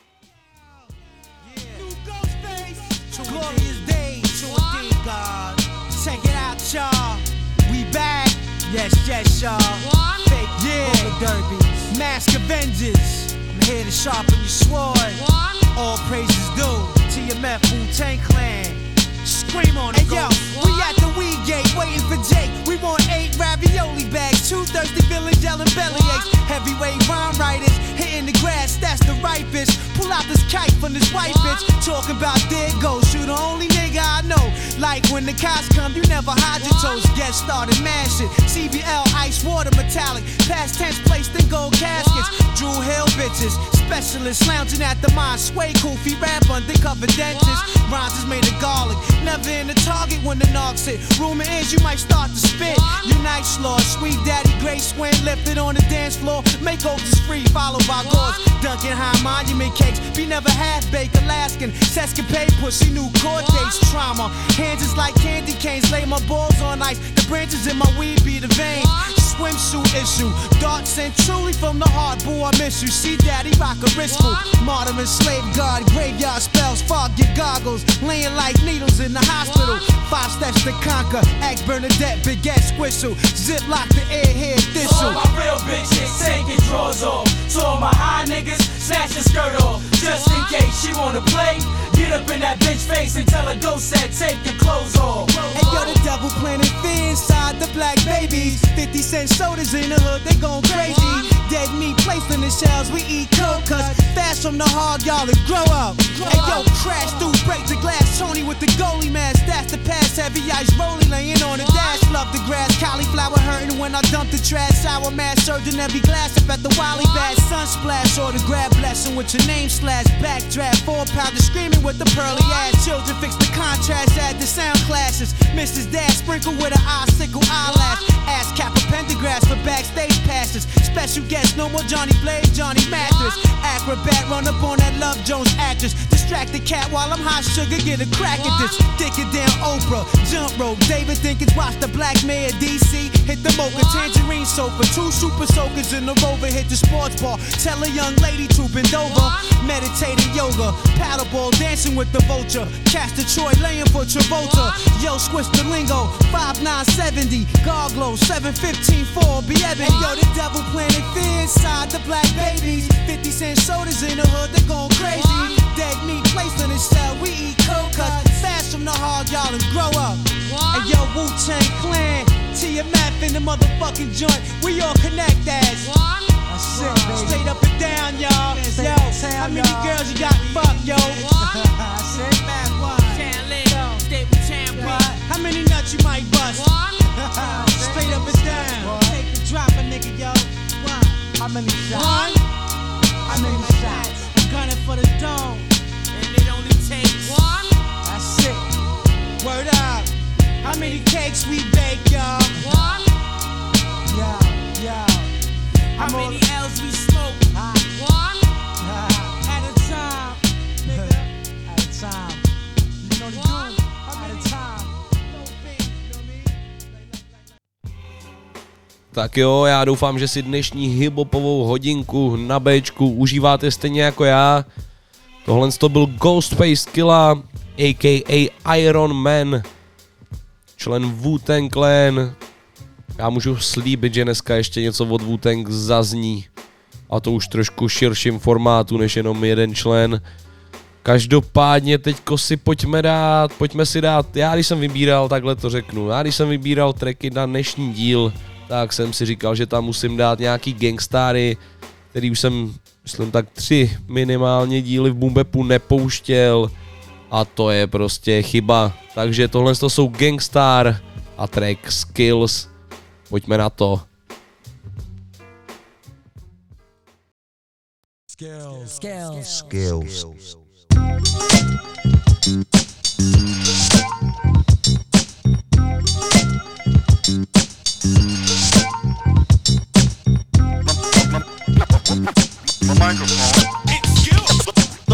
Speaker 15: Yes, y'all. Fake, yeah. Derby. Mask Avengers. I'm here to sharpen your sword. All praises due to your Meth Wu-Tang Clan. Scream on it, hey, yo, we at the weed gate waiting for Jake. We want 8 ravioli bags, 2 thirsty villains yelling bellyaches. Heavyweight rhyme writers hitting the grass, that's the right bitch. Pull out this kite from this white bitch. Talking about there it goes, you the only nigga I know. Like when the cops come, you never hide your toes. Get started, mash it. CBL, ice water, metallic. Past tense placed in gold caskets. Drew Hill bitches, specialists lounging at the mine. Sway Koofy, rap undercover dentist. Rhymes is made of garlic. Never in the target when the knocks hit. Rumor is you might start to spit. Unite slaw, sweet daddy, great swing, lifted on the dance floor. Makeovers free, followed by gauze. Dunkin' high monument cakes. Be never half-baked, Alaskan. Sescapade, pussy, new court dates, trauma. Hands is like candy canes, lay my balls on ice. The branches in my weed be the veins. Swimsuit issue, dark sent truly from the heart. Boo, I miss you. See daddy rock a wristful. Martyr and slave guard, graveyard spells, fog your goggles. Laying like needles in the hospital. 5 steps to conquer. Act Bernadette, big ass squistle. Zip lock the airhead thistle.
Speaker 16: All my real bitches taking drawers off. To all my high niggas, snatch your skirt off. Just in case she wanna play. Get up in that bitch face and tell her go set, take your clothes off.
Speaker 15: Hey yo, the devil planted fear inside the black babies. 50-cent sodas in the hood, they gon' crazy. Dead meat placed in the shells, we eat cold cuts. Fast from the hog, y'all, and grow up. Hey yo, crash through, break the glass. Tony with the goalie mask, that's the pass. Heavy ice rolling, laying on the dash. Love the grass, cauliflower hurting when I dump the trash. Sour mass, surging every glass up at the Wally Bass. Sun splash, or the grab blessing with your name slash. Backdraft, 4-pounder screaming with the pearly ass. Children fix the contrast, add the sound classes. Mrs. Dad sprinkle with an icicle eyelash. Ass cap a pentagraphs for backstage passes. Special guest, no more Johnny Blaze, Johnny Mathis. Acrobat, run up on that Love Jones actress. Distract the cat while I'm hot sugar, get a crack at this. Dick it down Oprah, jump rope. David Dinkins, watch the Black Mayor DC. Hit the mocha, tangerine sofa. 2 super soakers in the Rover, hit the sports bar. Tell a young lady to bend over. Meditating yoga, paddleball, dancing with the vulture. Cast Detroit, laying for Travolta. Yo, switch the lingo, 5970. Garglow, 715-4, be ebony. Hey, yo, the devil planted fear inside the black babies. 50-cent sodas in the hood, they gon' crazy. Dead meat placed in the shell, we eat cold cuts. Fast from the hog, y'all, and grow up. Hey, yo, Wu-Tang Clan, TMF in the motherfucking joint. We all connect as. That's it, baby. Straight up and down, y'all. Yo, how many girls you got fucked, yo? That's it, man. How many nuts you might bust? Straight up and down. Take the drop, a nigga, yo. How many shots? How many shots? I'm gunning for the dome. And it only takes 1. That's it. Word up. How many cakes we bake, y'all? 1. Yo. How many L's we smoke? 1. At a time.
Speaker 4: Tak jo, já doufám, že si dnešní hiphopovou hodinku na Bčku užíváte stejně jako já. Tohle to byl Ghostface Killah, a.k.a. Iron Man, člen Wu-Tang Clan. Já můžu slíbit, že dneska ještě něco od Wu-Tang zazní. A to už trošku širším formátu než jenom jeden člen. Každopádně teďko si pojďme si dát, já když jsem vybíral, takhle to řeknu, já když jsem vybíral tracky na dnešní díl, tak jsem si říkal, že tam musím dát nějaký gangstary, který už jsem, myslím tak 3 minimálně díly v Boom Bapu nepouštěl a to je prostě chyba. Takže tohle to jsou Gangstar a track Skills, pojďme na to.
Speaker 17: Skills.
Speaker 18: My microphone. It's skills.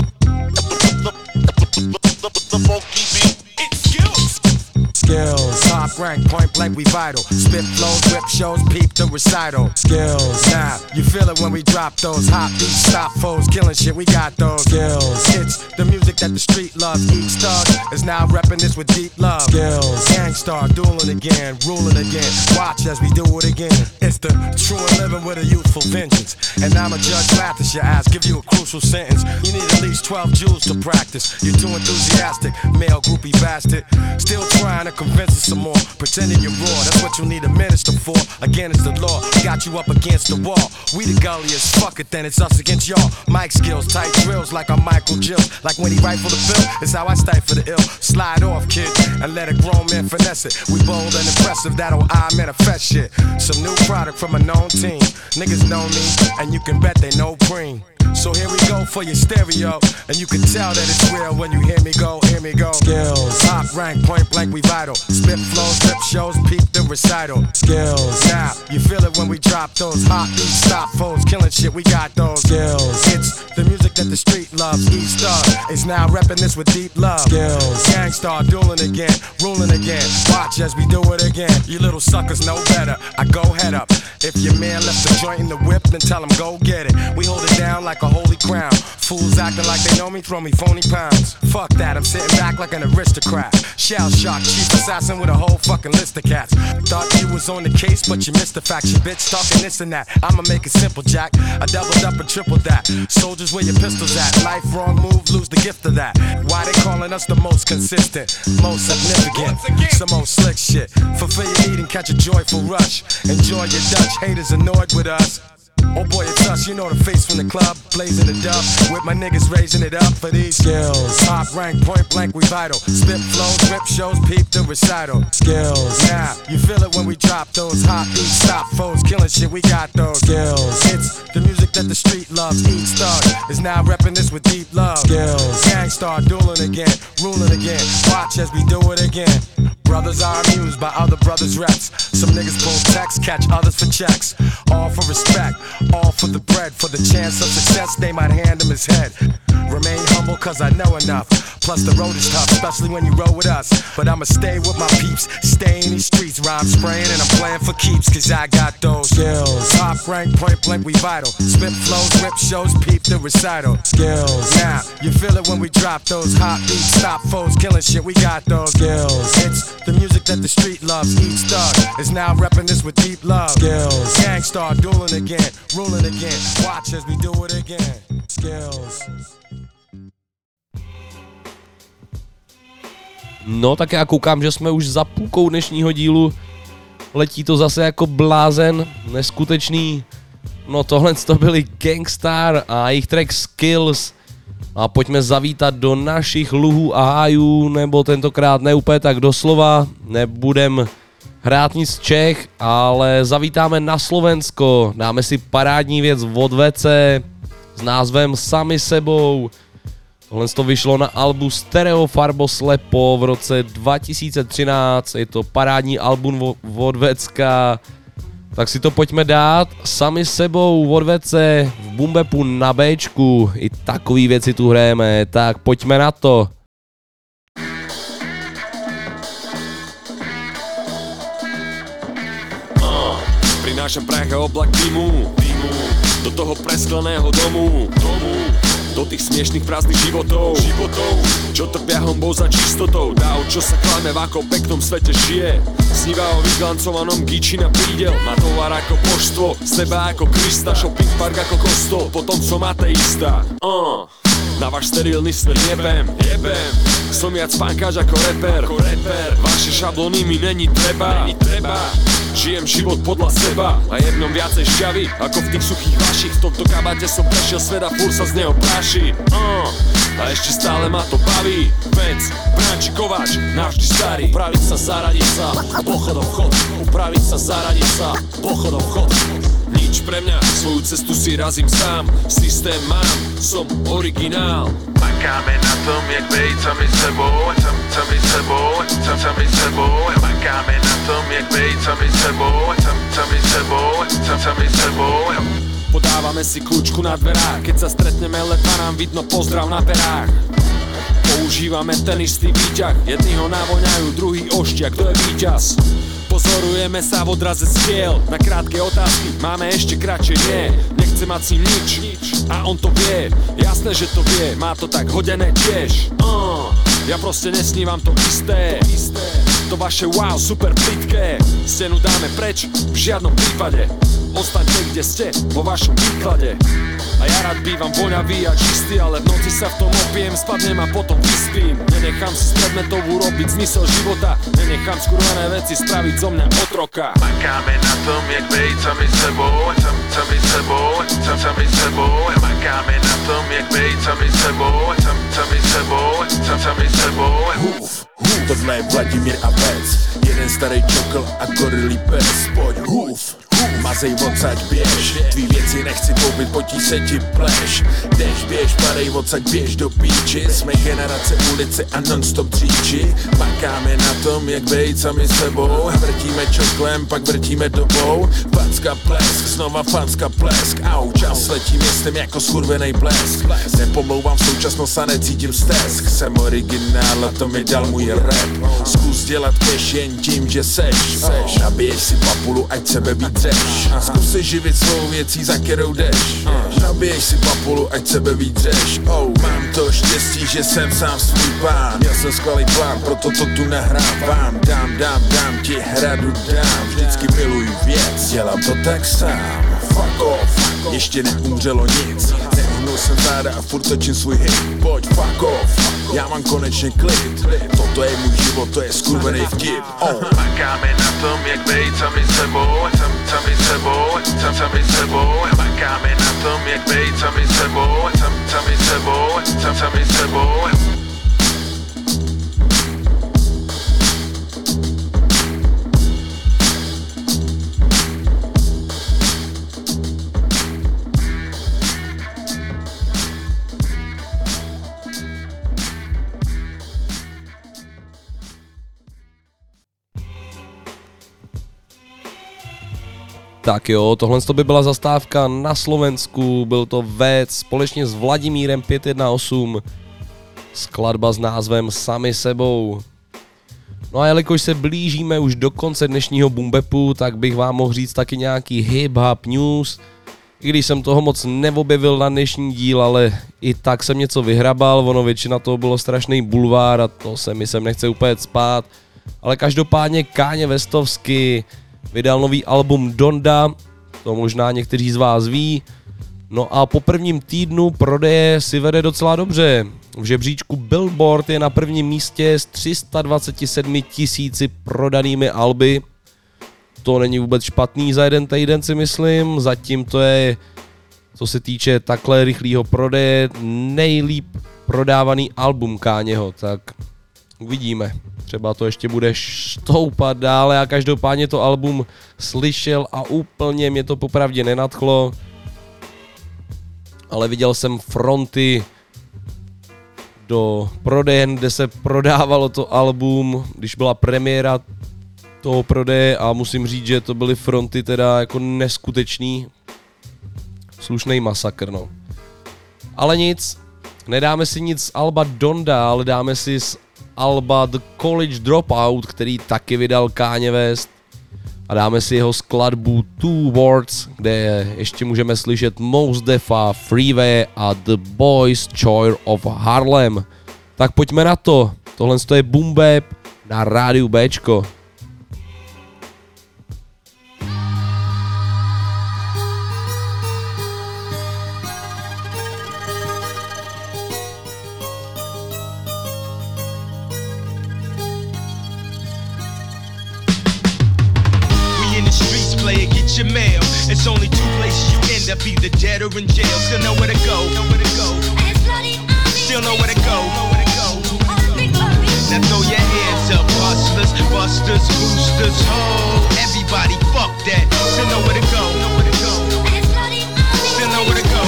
Speaker 18: The funky beat. It's skills.
Speaker 19: Skills, top rank, point blank, we vital. Spit flows, rip shows, peep the recital. Skills, now you feel it when we drop those hot beats, stop foes, killing shit. We got those skills. It's the music that the street loves. Each thug is now repping this with deep love. Skills, gangstar, dueling again, ruling again. Watch as we do it again. It's the true and living with a youthful vengeance. And I'm a judge, Mathis your ass, give you a crucial sentence. You need at least 12 joules to practice. You're too enthusiastic, male groupie bastard. Still trying to convince us some more, pretending you're raw. That's what you need a minister for. Again, it's the law. Got you up against the wall. We the gulliest, fuck it, then it's us against y'all. Mic skills, tight drills like I'm Michael Jill. Like when he rifle the bill, it's how I stifle the ill. Slide off, kid, and let a grown man finesse it. We bold and impressive, that'll I manifest shit. Some new product from a known team. Niggas know me, and you can bet they know Preem. So here we go for your stereo, and you can tell that it's real when you hear me go, hear me go. Skills, top rank, point blank, we vital. Spit flows, rip shows, peep the recital. Skills, now you feel it when we drop those hot beats, stop foes, killing shit. We got those skills. It's the music that the street loves. Each thug is now repping this with deep love. Skills, gangstar, dueling again, ruling again. Watch as we do it again. You little suckers know better. I go head up. If your man left the joint in the whip, then tell him go get it. We hold it down like a holy crown. Fools acting like they know me, throw me phony pounds. Fuck that, I'm sitting back like an aristocrat. Shell shock, chief assassin with a whole fucking list of cats. Thought you was on the case, but you missed the fact. You bitch talking this and that. I'ma make it simple, Jack. I doubled up and tripled that. Soldiers, where your pistols at? Life wrong move, lose the gift of that. Why they calling us the most consistent, most significant, some old slick shit. Fulfill your need and catch a joyful rush. Enjoy your Dutch, haters annoyed with us. Oh boy, it's us, you know the face from the club, blazing the dub, with my niggas raising it up for these skills. Top rank, point blank, we vital. Spit flows, rip shows, peep the recital. Skills, now you feel it when we drop those hot beats, stop foes, killing shit. We got those skills. It's the music that the street loves. Each thug is now repping this with deep love. Skills, gangstar, dueling again, ruling again. Watch as we do it again. Brothers are amused by other brothers' reps. Some niggas pull texts, catch others for checks. All for respect, all for the bread. For the chance of success, they might hand him his head. Remain humble cause I know enough. Plus the road is tough, especially when you roll with us. But I'ma stay with my peeps, stay in these streets. Rhyme spraying and I'm playing for keeps, cause I got those skills. Top rank, point blank, we vital. Spit flows, rip shows, peep the recital. Skills, now you feel it when we drop those hot beats, stop foes, killing shit. We got those skills. It's the music that the street loves. Each thug is now repping this with deep love. Skills, gangstar, dueling again, ruling again. Watch as we do it again. Skills.
Speaker 4: No tak já koukám, že jsme už za půlkou dnešního dílu. Letí to zase jako blázen, neskutečný. No tohle to byly Gangstar a jejich track Skills. A pojďme zavítat do našich luhů a hájů, nebo tentokrát ne úplně tak doslova. Nebudem hrát nic z Čech, ale zavítáme na Slovensko. Dáme si parádní věc od WC s názvem Sami sebou. Tohle to vyšlo na albu Stereo Farbo Slepo v roce 2013, je to parádní album od Vecka, tak si to pojďme dát. Sami sebou od Vece v Boom Bapu na Bčku, i takový věci tu hrajeme, tak pojďme na to.
Speaker 17: Prinášam prach a oblak dymu do toho preskleného domu, do tých smiešných prázdnych životov, čo trpia honbou za čistotou. Dáv, čo sa klame, v akom peknom svete žije, sníva o vyglancovanom gíči na prídel. Má tovar ako božstvo, z neba ako Krista, shopping park ako kostol, potom som ateista. Na váš sterilný svet jebem, som viac pánkač ako reper. Vaše šablony mi není treba. Žijem život podľa seba a je v ňom viacej šťavy ako v tých suchých vašich. V tomto kabáte som prešiel svet a furt sa z neho práši. A ešte stále ma to baví. Vec, Branči, Kováč, navždy starý.
Speaker 20: Upraviť sa, zaradiť sa, pochodom vchod. Upraviť sa, zaradiť sa, pochodom vchod.
Speaker 17: Nič pre mňa, svoju cestu si razím sám. Systém mám, som originál.
Speaker 21: Makáme na tom, jak bejt sami sebou, sami sebou. Makáme na tom, jak bejt sami sebou.
Speaker 17: Podávame si kľúčku na dverách, keď sa stretneme letva nám vidno pozdrav na perách. Používame ten istý výťah, jedni ho navoňajú, druhý oštia, kto je víťaz. Pozorujeme sa v odraze skiel, na krátke otázky máme ešte kratšie nie. Nechce mať si nič a on to vie, jasné, že to vie, má to tak hodené tiež. Ja proste nesnívam to isté, to vaše wow, super plitké. Stenu dáme preč, v žiadnom prípade. Ostaňte kde ste, vo vašom výklade. A ja rád bývam voňavý a čistý, ale v noci sa v tom opijem, spadnem a potom vyspím. Nenechám si z predmetov urobiť zmysel života, nenechám skurvené veci spraviť zo mňa otroka.
Speaker 21: Makáme na tom, jak bejt sami sebou. Makáme na tom, jak bejt sami sebou.
Speaker 22: Tohle je Vladimír a Vec, jeden starý čokl a gorilý pes. Pojď hův, mazej odsaď běž, tvý věci nechci koupit, potí se ti pleš. Jdeš, běž, padej odsaď běž do píči, jsme generace ulice a non-stop dříči. Makáme na tom, jak bejt sami sebou, vrtíme čoklem, pak vrtíme dobou. Facka plesk, znova facka plesk, au, čas letí městem jako skurvenej blesk. Nepomlouvám současnost a necítím stesk, jsem originál a to mi dal můj rap. Zkus dělat cash jen tím, že seš. Nabiješ si papulu, ať sebe víc dřeš. Zkus se živit svou věcí, za kterou jdeš. Nabiješ si papulu, ať sebe víc dřeš. Mám to štěstí, že jsem sám svůj pán. Měl jsem skvělý plán, proto to tu nahrávám. Dám ti hradu, dám. Vždycky miluju věc, dělám to tak sám. Fuck off, ještě neumřelo nic. Nehnul jsem záda a furt točím svůj hit. Pojď fuck off, já mám konečně klid. Toto je můj život, to je skurvený vtip.
Speaker 21: Makáme na tom, jak bejt sami sebou. Makáme na tom, jak bejt sami sebou.
Speaker 4: Tak jo, tohle by byla zastávka na Slovensku, byl to Vec společně s Vladimírem 518, skladba s názvem Sami sebou. No a jelikož se blížíme už do konce dnešního Boombepu, tak bych vám mohl říct taky nějaký hip-hop news, i když jsem toho moc neobjevil na dnešní díl, ale i tak jsem něco vyhrabal, ono většina toho bylo strašný bulvár a to se mi sem nechce úplně spát, ale každopádně Kanye Westovsky vydal nový album Donda, to možná někteří z vás ví. No a po prvním týdnu prodeje si vede docela dobře. V žebříčku Billboard je na prvním místě s 327 000 prodanými alby. To není vůbec špatný za jeden týden, si myslím. Zatím to je, co se týče takhle rychlého prodeje, nejlíp prodávaný album Kanyeho, tak uvidíme. Třeba to ještě bude stoupat dále. Já každopádně to album slyšel a úplně mě to popravdě nenadchlo. Ale viděl jsem fronty do prodejen, kde se prodávalo to album, když byla premiéra toho prodeje a musím říct, že to byly fronty teda jako neskutečný. Slušnej masakr, no. Ale nic, nedáme si nic z alba Donda, ale dáme si z alba The College Dropout, který taky vydal Kanye West. a dáme si jeho skladbu Two Words, kde ještě můžeme slyšet Mos Defa, Freeway a The Boys Choir of Harlem. Tak pojďme na to. Tohle je Boom Bap na rádiu Bčko.
Speaker 5: Your mail. It's only two places you end up, either dead or in jail. Still know where to go. Still know where to go. Now throw your hands up, hustlers, busters, boosters, ho. Everybody, fuck that. Still know where to go. Still know where to go.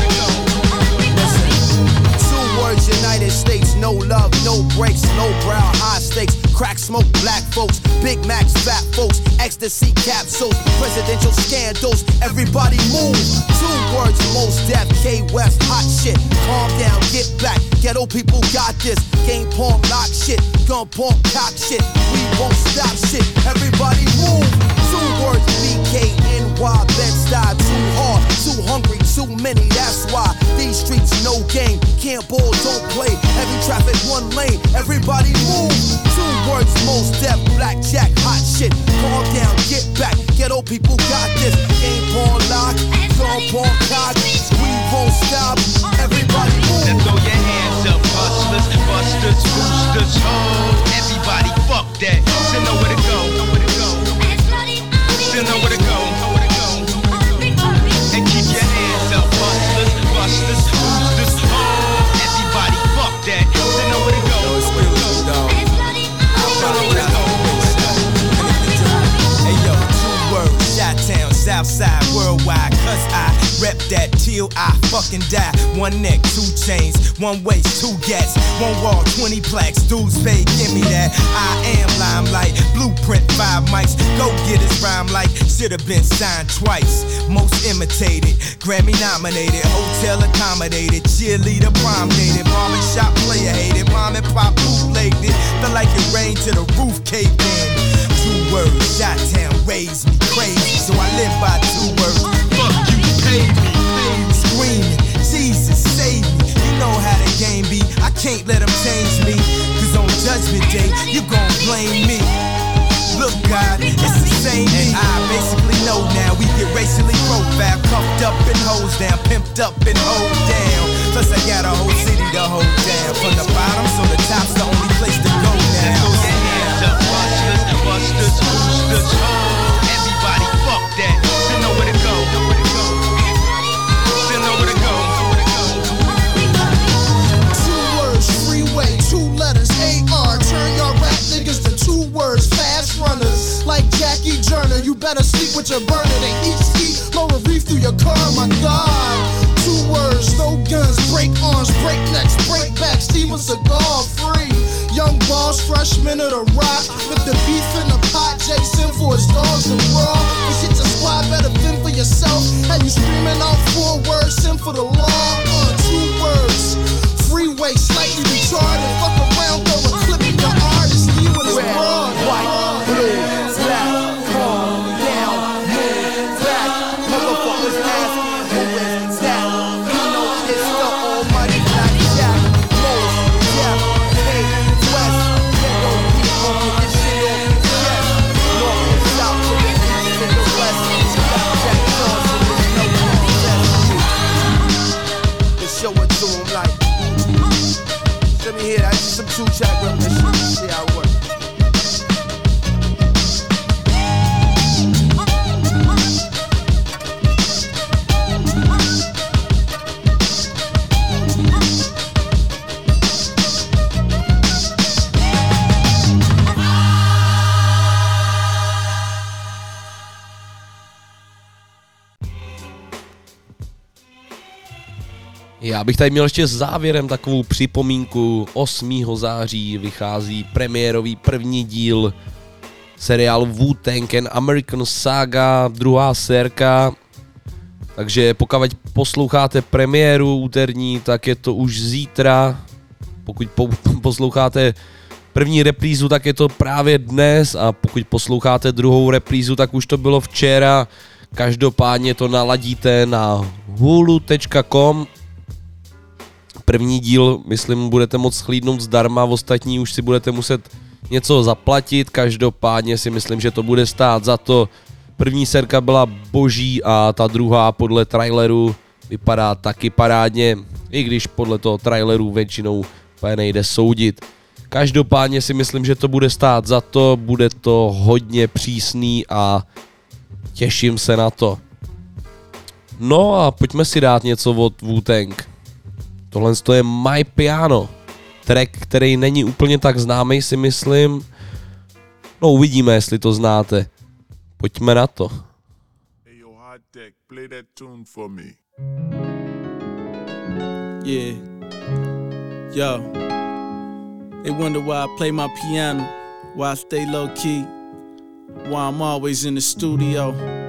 Speaker 3: Two words, United States, no love, no breaks, low brow, high stakes. Crack smoke, black folks, Big Macs, fat folks, ecstasy capsules, presidential scandals, everybody move. Two words, Mos Def, K West, hot shit. Calm down, get back, ghetto people got this. Game porn, lock shit, gun porn, cock shit. We won't stop shit, everybody move. Two words, BKNY, Bed-Stuy, too hard, too hungry, too many, that's why. These streets, no game, can't ball, don't play. Heavy traffic, one lane, everybody move. Two words, Mos Def, blackjack, hot shit. Calm down, get back, ghetto people got this. Game porn lock, gun porn cock. We won't stop, everybody move.
Speaker 5: Now throw your hands up, hustlers, busters, boosters, ho. Everybody, fuck that. Still know where to go. Still know where to go. And keep your hands up, hustlers, busters, boosters, ho. Everybody, fuck that. Still know where to go.
Speaker 12: Hey yo, two words, Chi-Town, Southside, worldwide, cause I rep that till I fucking die. One neck, two chains, one waist, two gats, one wall, 20 plaques, dudes pay, give me that. I am limelight, blueprint, 5 mics, go get his rhyme like, should've been signed twice. Most imitated, Grammy nominated, hotel accommodated, cheerleader prom dated, barbershop player hated, mom and pop bootlegged it, felt like it rained to the roof caved in. Two words, Chi-Town raised me crazy, so I live by two words. Fuck you, pay me. Screaming, Jesus save me. You know how the game be. I can't let them change me. Cause on Judgment Day, you gon' blame me. Look, God, it's the same me. And I basically know now we get racially profiled, cuffed up and hosed down, pimped up and hold down. Plus I got a whole city to hold down. From the bottom, so the top's the only place to go now.
Speaker 5: Throw your hands up, hustlers, busters, boosters, ho. Everybody, fuck that. Still know where to go. Still know where to go.
Speaker 3: Two words, freeway, two letters, AR. Turn your rap niggas to two words, fast runners. Like Jackie Joyner, you better sleep with your burner. They eat ski, blow a reef through your car, my God. Two words, no guns, break arms, break necks, break back, Steven Seagal free. Young boss, freshman of the rock, with the beef in the pot, Jason for his dogs and raw. This shit your squad, better fend for yourself. And you screaming out 4 words, sin for the law. 2 words, freeway, slightly retarded. Fuck around, throw a clip in your artist, you and his broad. White, blue, black, calm down, move back. Motherfuckers asking who is that? You know it's the almighty Black Jack. Mos Def, K West, ghetto people with this shit on your chest. North and south to the east and the west. Blackjack songs and there's no contest. Just show it to 'em like. Let me hear that. Just some 2-track rendition. See how it works.
Speaker 4: Já bych tady měl ještě závěrem takovou připomínku. 8. září vychází premiérový první díl seriálu Wu-Tang and American Saga, 2. sérka. Takže pokud posloucháte premiéru úterní, tak je to už zítra. Pokud posloucháte první reprízu, tak je to právě dnes a pokud posloucháte druhou reprízu, tak už to bylo včera. Každopádně to naladíte na hulu.com. První díl, myslím, budete moct shlídnout zdarma, ostatní už si budete muset něco zaplatit. Každopádně si myslím, že to bude stát za to. První serka byla boží a ta druhá podle traileru vypadá taky parádně, i když podle toho traileru většinou nejde soudit. Každopádně si myslím, že to bude stát za to, bude to hodně přísný a těším se na to. No a pojďme si dát něco od Wu-Tang. Tohle je My Piano, track, který není úplně tak známý, si myslím. No uvidíme, jestli to znáte. Pojďme na to.
Speaker 7: Hey yo, Hot Deck, play that tune for me.
Speaker 9: Yeah. Yo. They wonder why I play my piano, why I stay low key, why I'm always in the studio.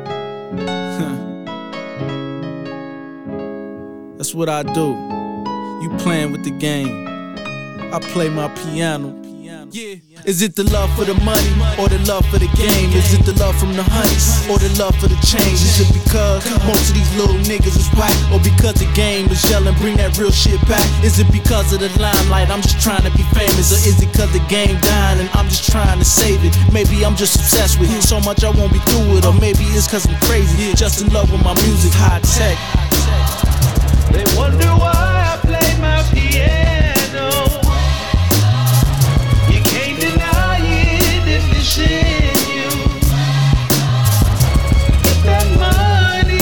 Speaker 9: That's what I do. You playing with the game, I play my piano. Yeah. Is it the love for the money or the love for the game? Is it the love from the honeys or the love for the change? Is it because most of these little niggas is whack, or because the game is yelling bring that real shit back? Is it because of the limelight I'm just trying to be famous, or is it because the game dying and I'm just trying to save it? Maybe I'm just obsessed with it so much I won't be through it, or maybe it's cause I'm crazy, just in love with my music. High tech.
Speaker 5: They wonder why I play my piano. You can't deny it if it's in you. Get that money,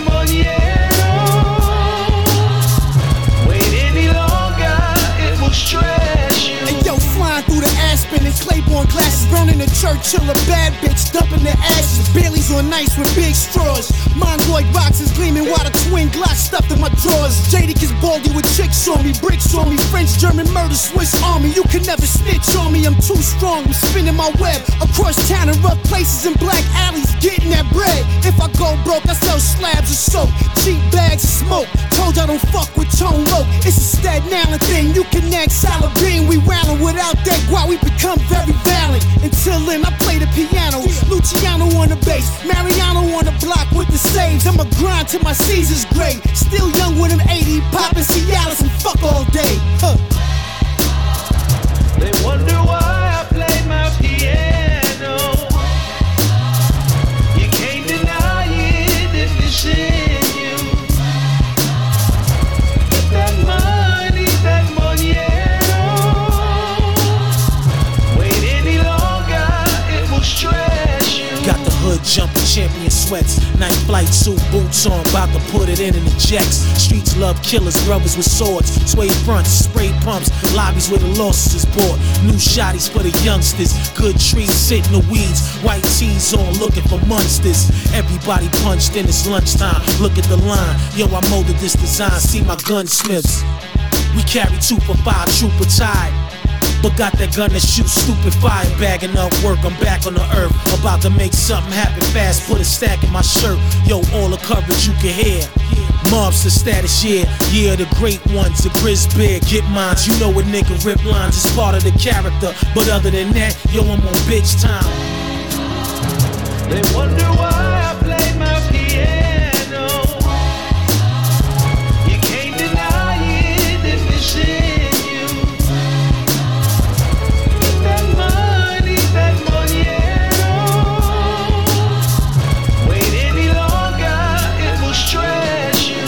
Speaker 5: wait any longer, it will stress you.
Speaker 3: And yo, flying through the Aspen and Claiborne glasses, burning the Churchill, a bad bitch, dumping the ashes. Bailey's on ice with big straws. Mongoloid boxes gleaming while the twin Glocks stuffed in my drawers. Jadakiss is baldy with chicks on me, bricks on me, French, German murder, Swiss army. You can never snitch on me, I'm too strong. I'm spinning my web across town in rough places and black alleys, getting that bread. If I go broke, I sell slabs of soap, cheap bags of smoke. Told I don't fuck with Tone Loc. It's a Staten Island thing. You can act salad bean. We wildin' without that guap, we become very valiant. Until then, I play the piano. Luciano on the bass, Mariano on the block with the saves. I'ma grind till my season's great. Still young with them 80, poppin' Cialis and fuck all day. Huh.
Speaker 5: They wonder why I play my piano. You can't deny it if it's in you. Get that money, wait any longer, it will stress you.
Speaker 9: Got the hood jumping, champion sweats, night flight suit, boots on, about to put it in the jacks. Streets love killers, brothers with swords, suede fronts, spray pumps, lobbies where the losses is bought. New shotties for the youngsters, good trees sit in the weeds, white tees on, looking for monsters. Everybody punched in, it's lunchtime, look at the line. Yo, I molded this design, see my gunsmiths. We carry 2 for 5, trooper tied, but got that gun that shoots stupid fire. Bagging up work, I'm back on the earth, about to make something happen fast, put a stack in my shirt. Yo, all the coverage you can hear. Mobster status, yeah, the great ones, the Grizz Bear, get mines. You know a nigga rip lines, it's part of the character. But other than that, yo, I'm on bitch time.
Speaker 5: They wonder why I play my piano. You can't deny it if it's in you. Get that money, wait any longer, it will stress you.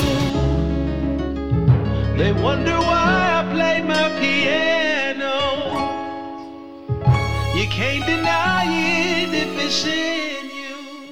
Speaker 5: They wonder why I play my piano. You can't deny it if it's in you.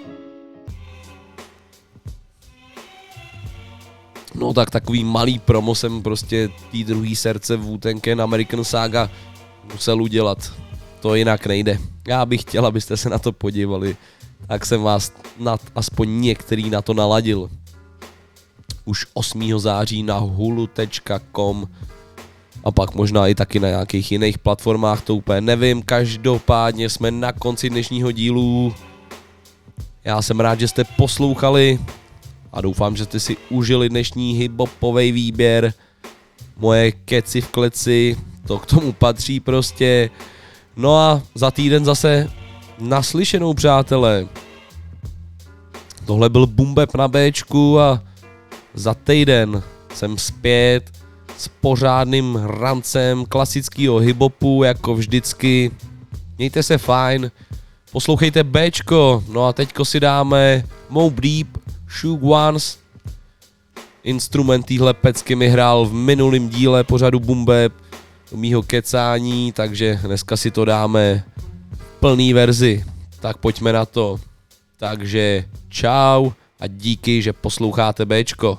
Speaker 4: No tak takový malý promo jsem prostě tý druhý srdce Wu-Tang Clan American Saga musel udělat. To jinak nejde. Já bych chtěl, abyste se na to podívali, tak jsem vás aspoň některý na to naladil. Už 8. září na hulu.com a pak možná i taky na nějakých jiných platformách, to úplně nevím. Každopádně jsme na konci dnešního dílu. Já jsem rád, že jste poslouchali a doufám, že jste si užili dnešní hip-hopovej výběr. Moje keci v kleci, to k tomu patří prostě. No a za týden zase naslyšenou, přátelé. Tohle byl Boom Bap na Bčku a za týden jsem zpět s pořádným rancem klasického hiphopu, jako vždycky. Mějte se fajn, poslouchejte Bčko, no a teďko si dáme Mobb Deep, Shook Ones. Instrument téhle pecky mi hrál v minulém díle pořadu Boom Bap, do mýho kecání, takže dneska si to dáme v plný verzi. Tak pojďme na to. Takže čau a díky, že posloucháte Bčko.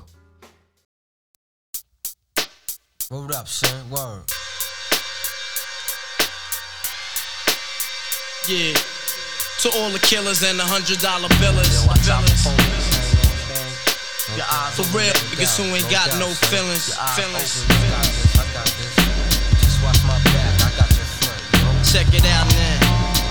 Speaker 19: Word up, son. Word.
Speaker 9: Yeah, to all the killers and the $100 billers. For real, niggas who ain't got no feelings. Check it out now.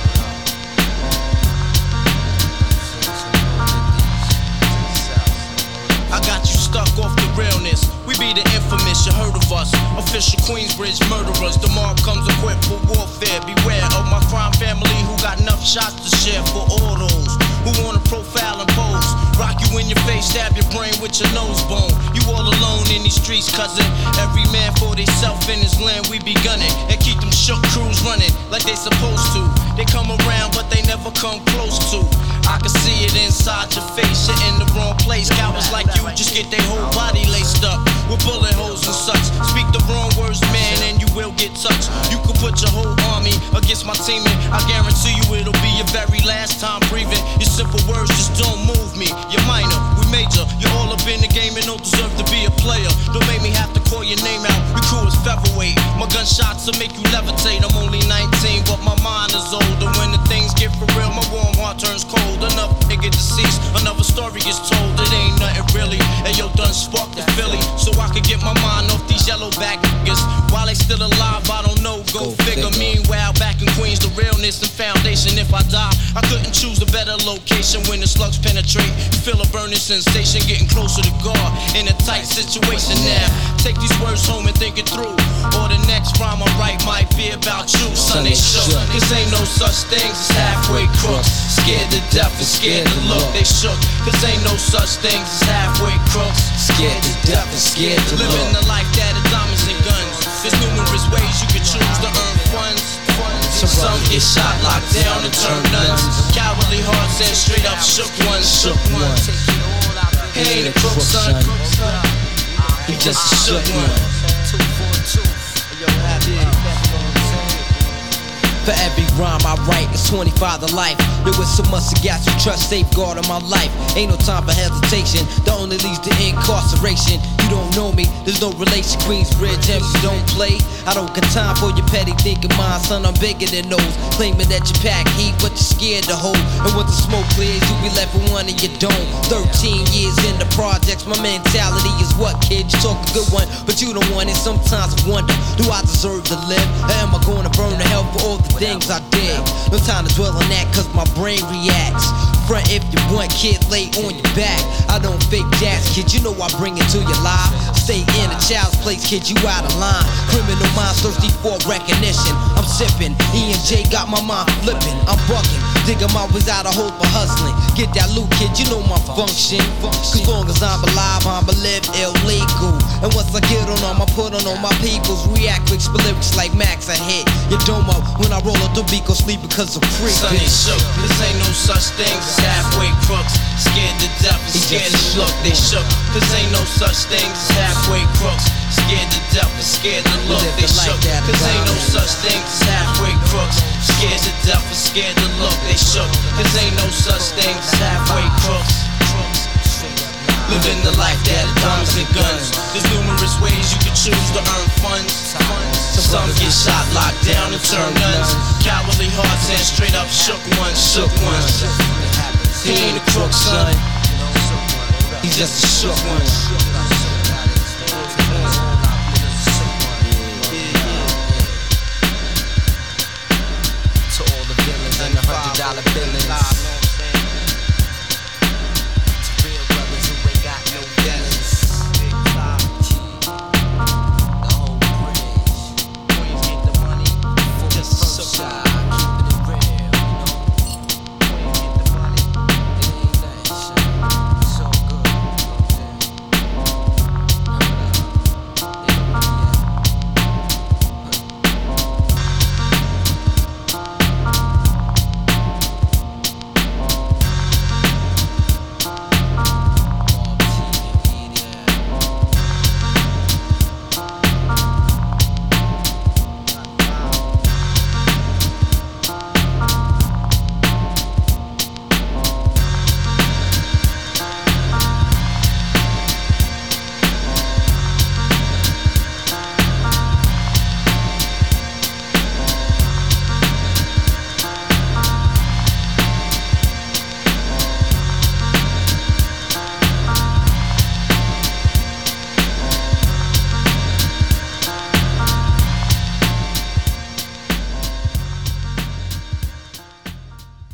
Speaker 9: I got you stuck off the realness. We be the infamous, you heard of us. Official Queensbridge murderers. The mob comes equipped for warfare. Beware of my crime family who got enough shots to share for all those who wanna profile and pose. Rock you in your face, stab your brain with your nose bone. You all alone in these streets, cousin. Every man for theyself in his land, we be gunning. And keep them shook crews running like they supposed to. They come around, but they never come close to. I can see it inside your face, you're in the wrong place. Cowards like you just get their whole body laced up with bullet holes and such. Speak the wrong words, man, and you will get touched. You could put your whole army against my team, and I guarantee you it'll be your very last time breathing. Your simple words just don't move me. You're minor, we major. You're all up in the game and don't deserve to be a player. Don't make me have to call your name out. Your crew is featherweight. My gunshots will make you levitate. I'm only 19, but my mind is older. When the things get for real, my warm heart turns cold. Another nigga deceased, another story gets told. It ain't nothing really. And yo, done sparked the Philly, so I could get my mind off these yellowback niggas. While they still alive, I don't know, go figure. Meanwhile, back in Queens, the realness and foundation. If I die, I couldn't choose a better location. When the slugs penetrate, you feel a burning sensation, getting closer to God in a tight situation now. Take these words home and think it through, or the next rhyme I write might be about you. Son, they shook, cause ain't no such things as halfway crooks. Scared to death and scared to look, they shook, cause ain't no such things as halfway crooks. Scared to death and scared to look. Living the life that is diamonds and guns. There's numerous ways you can choose to earn funds. Some get shot, locked down, and turn nuns. Cowardly hearts and straight up shook ones. Shook ones. He ain't a crook, son. He just a shook one. For every rhyme I write, it's 25 to life. There was so much gas you trust, safeguard of my life. Ain't no time for hesitation, that only leads to incarceration. You don't know me, there's no relation. Queensbridge, and you don't play. I don't got time for your petty thinking, mine, son, I'm bigger than those. Claiming that you pack heat, but you're scared to hold. And when the smoke clears, you be left with one and you don't. 13 years in the projects, my mentality is what, kid? You talk a good one, but you don't want it. Sometimes I wonder, do I deserve to live? Or am I gonna burn to hell for all the things I did? No time to dwell on that, cause my brain reacts. Front if you want, kid, lay on your back. I don't fake jazz, kid, you know I bring it to your life. Stay in a child's place, kid, you out of line. Criminal minds thirsty for recognition. I'm sipping, E&J got my mind flipping. I'm bucking, digging my ways out of hope for hustling. Get that loot, kid, you know my function. Cause long as I'm alive, I'ma live illegal. And once I get on them, I put on all my peoples. React quick, spit lyrics like Max, I hit your dome up. When I roll up the beat, go sleep because I'm free. Son, they shook, cause ain't no such thing as halfway crooks. Scared to death and scared to look, they shook. Cause ain't no such thing as halfway crooks. Scared to death and scared to look, they shook. Cause ain't no such thing as halfway crooks. Scared to death and scared to look, they shook. Cause ain't no such thing as halfway crooks. Living the life that is diamonds and guns. There's numerous ways you can choose to earn funds. Some get shot, locked down, and turn nuns. Cowardly hearts and straight up shook ones, shook ones. He ain't a crook, son. He's just a shook one. To all the villains and the $100 billings.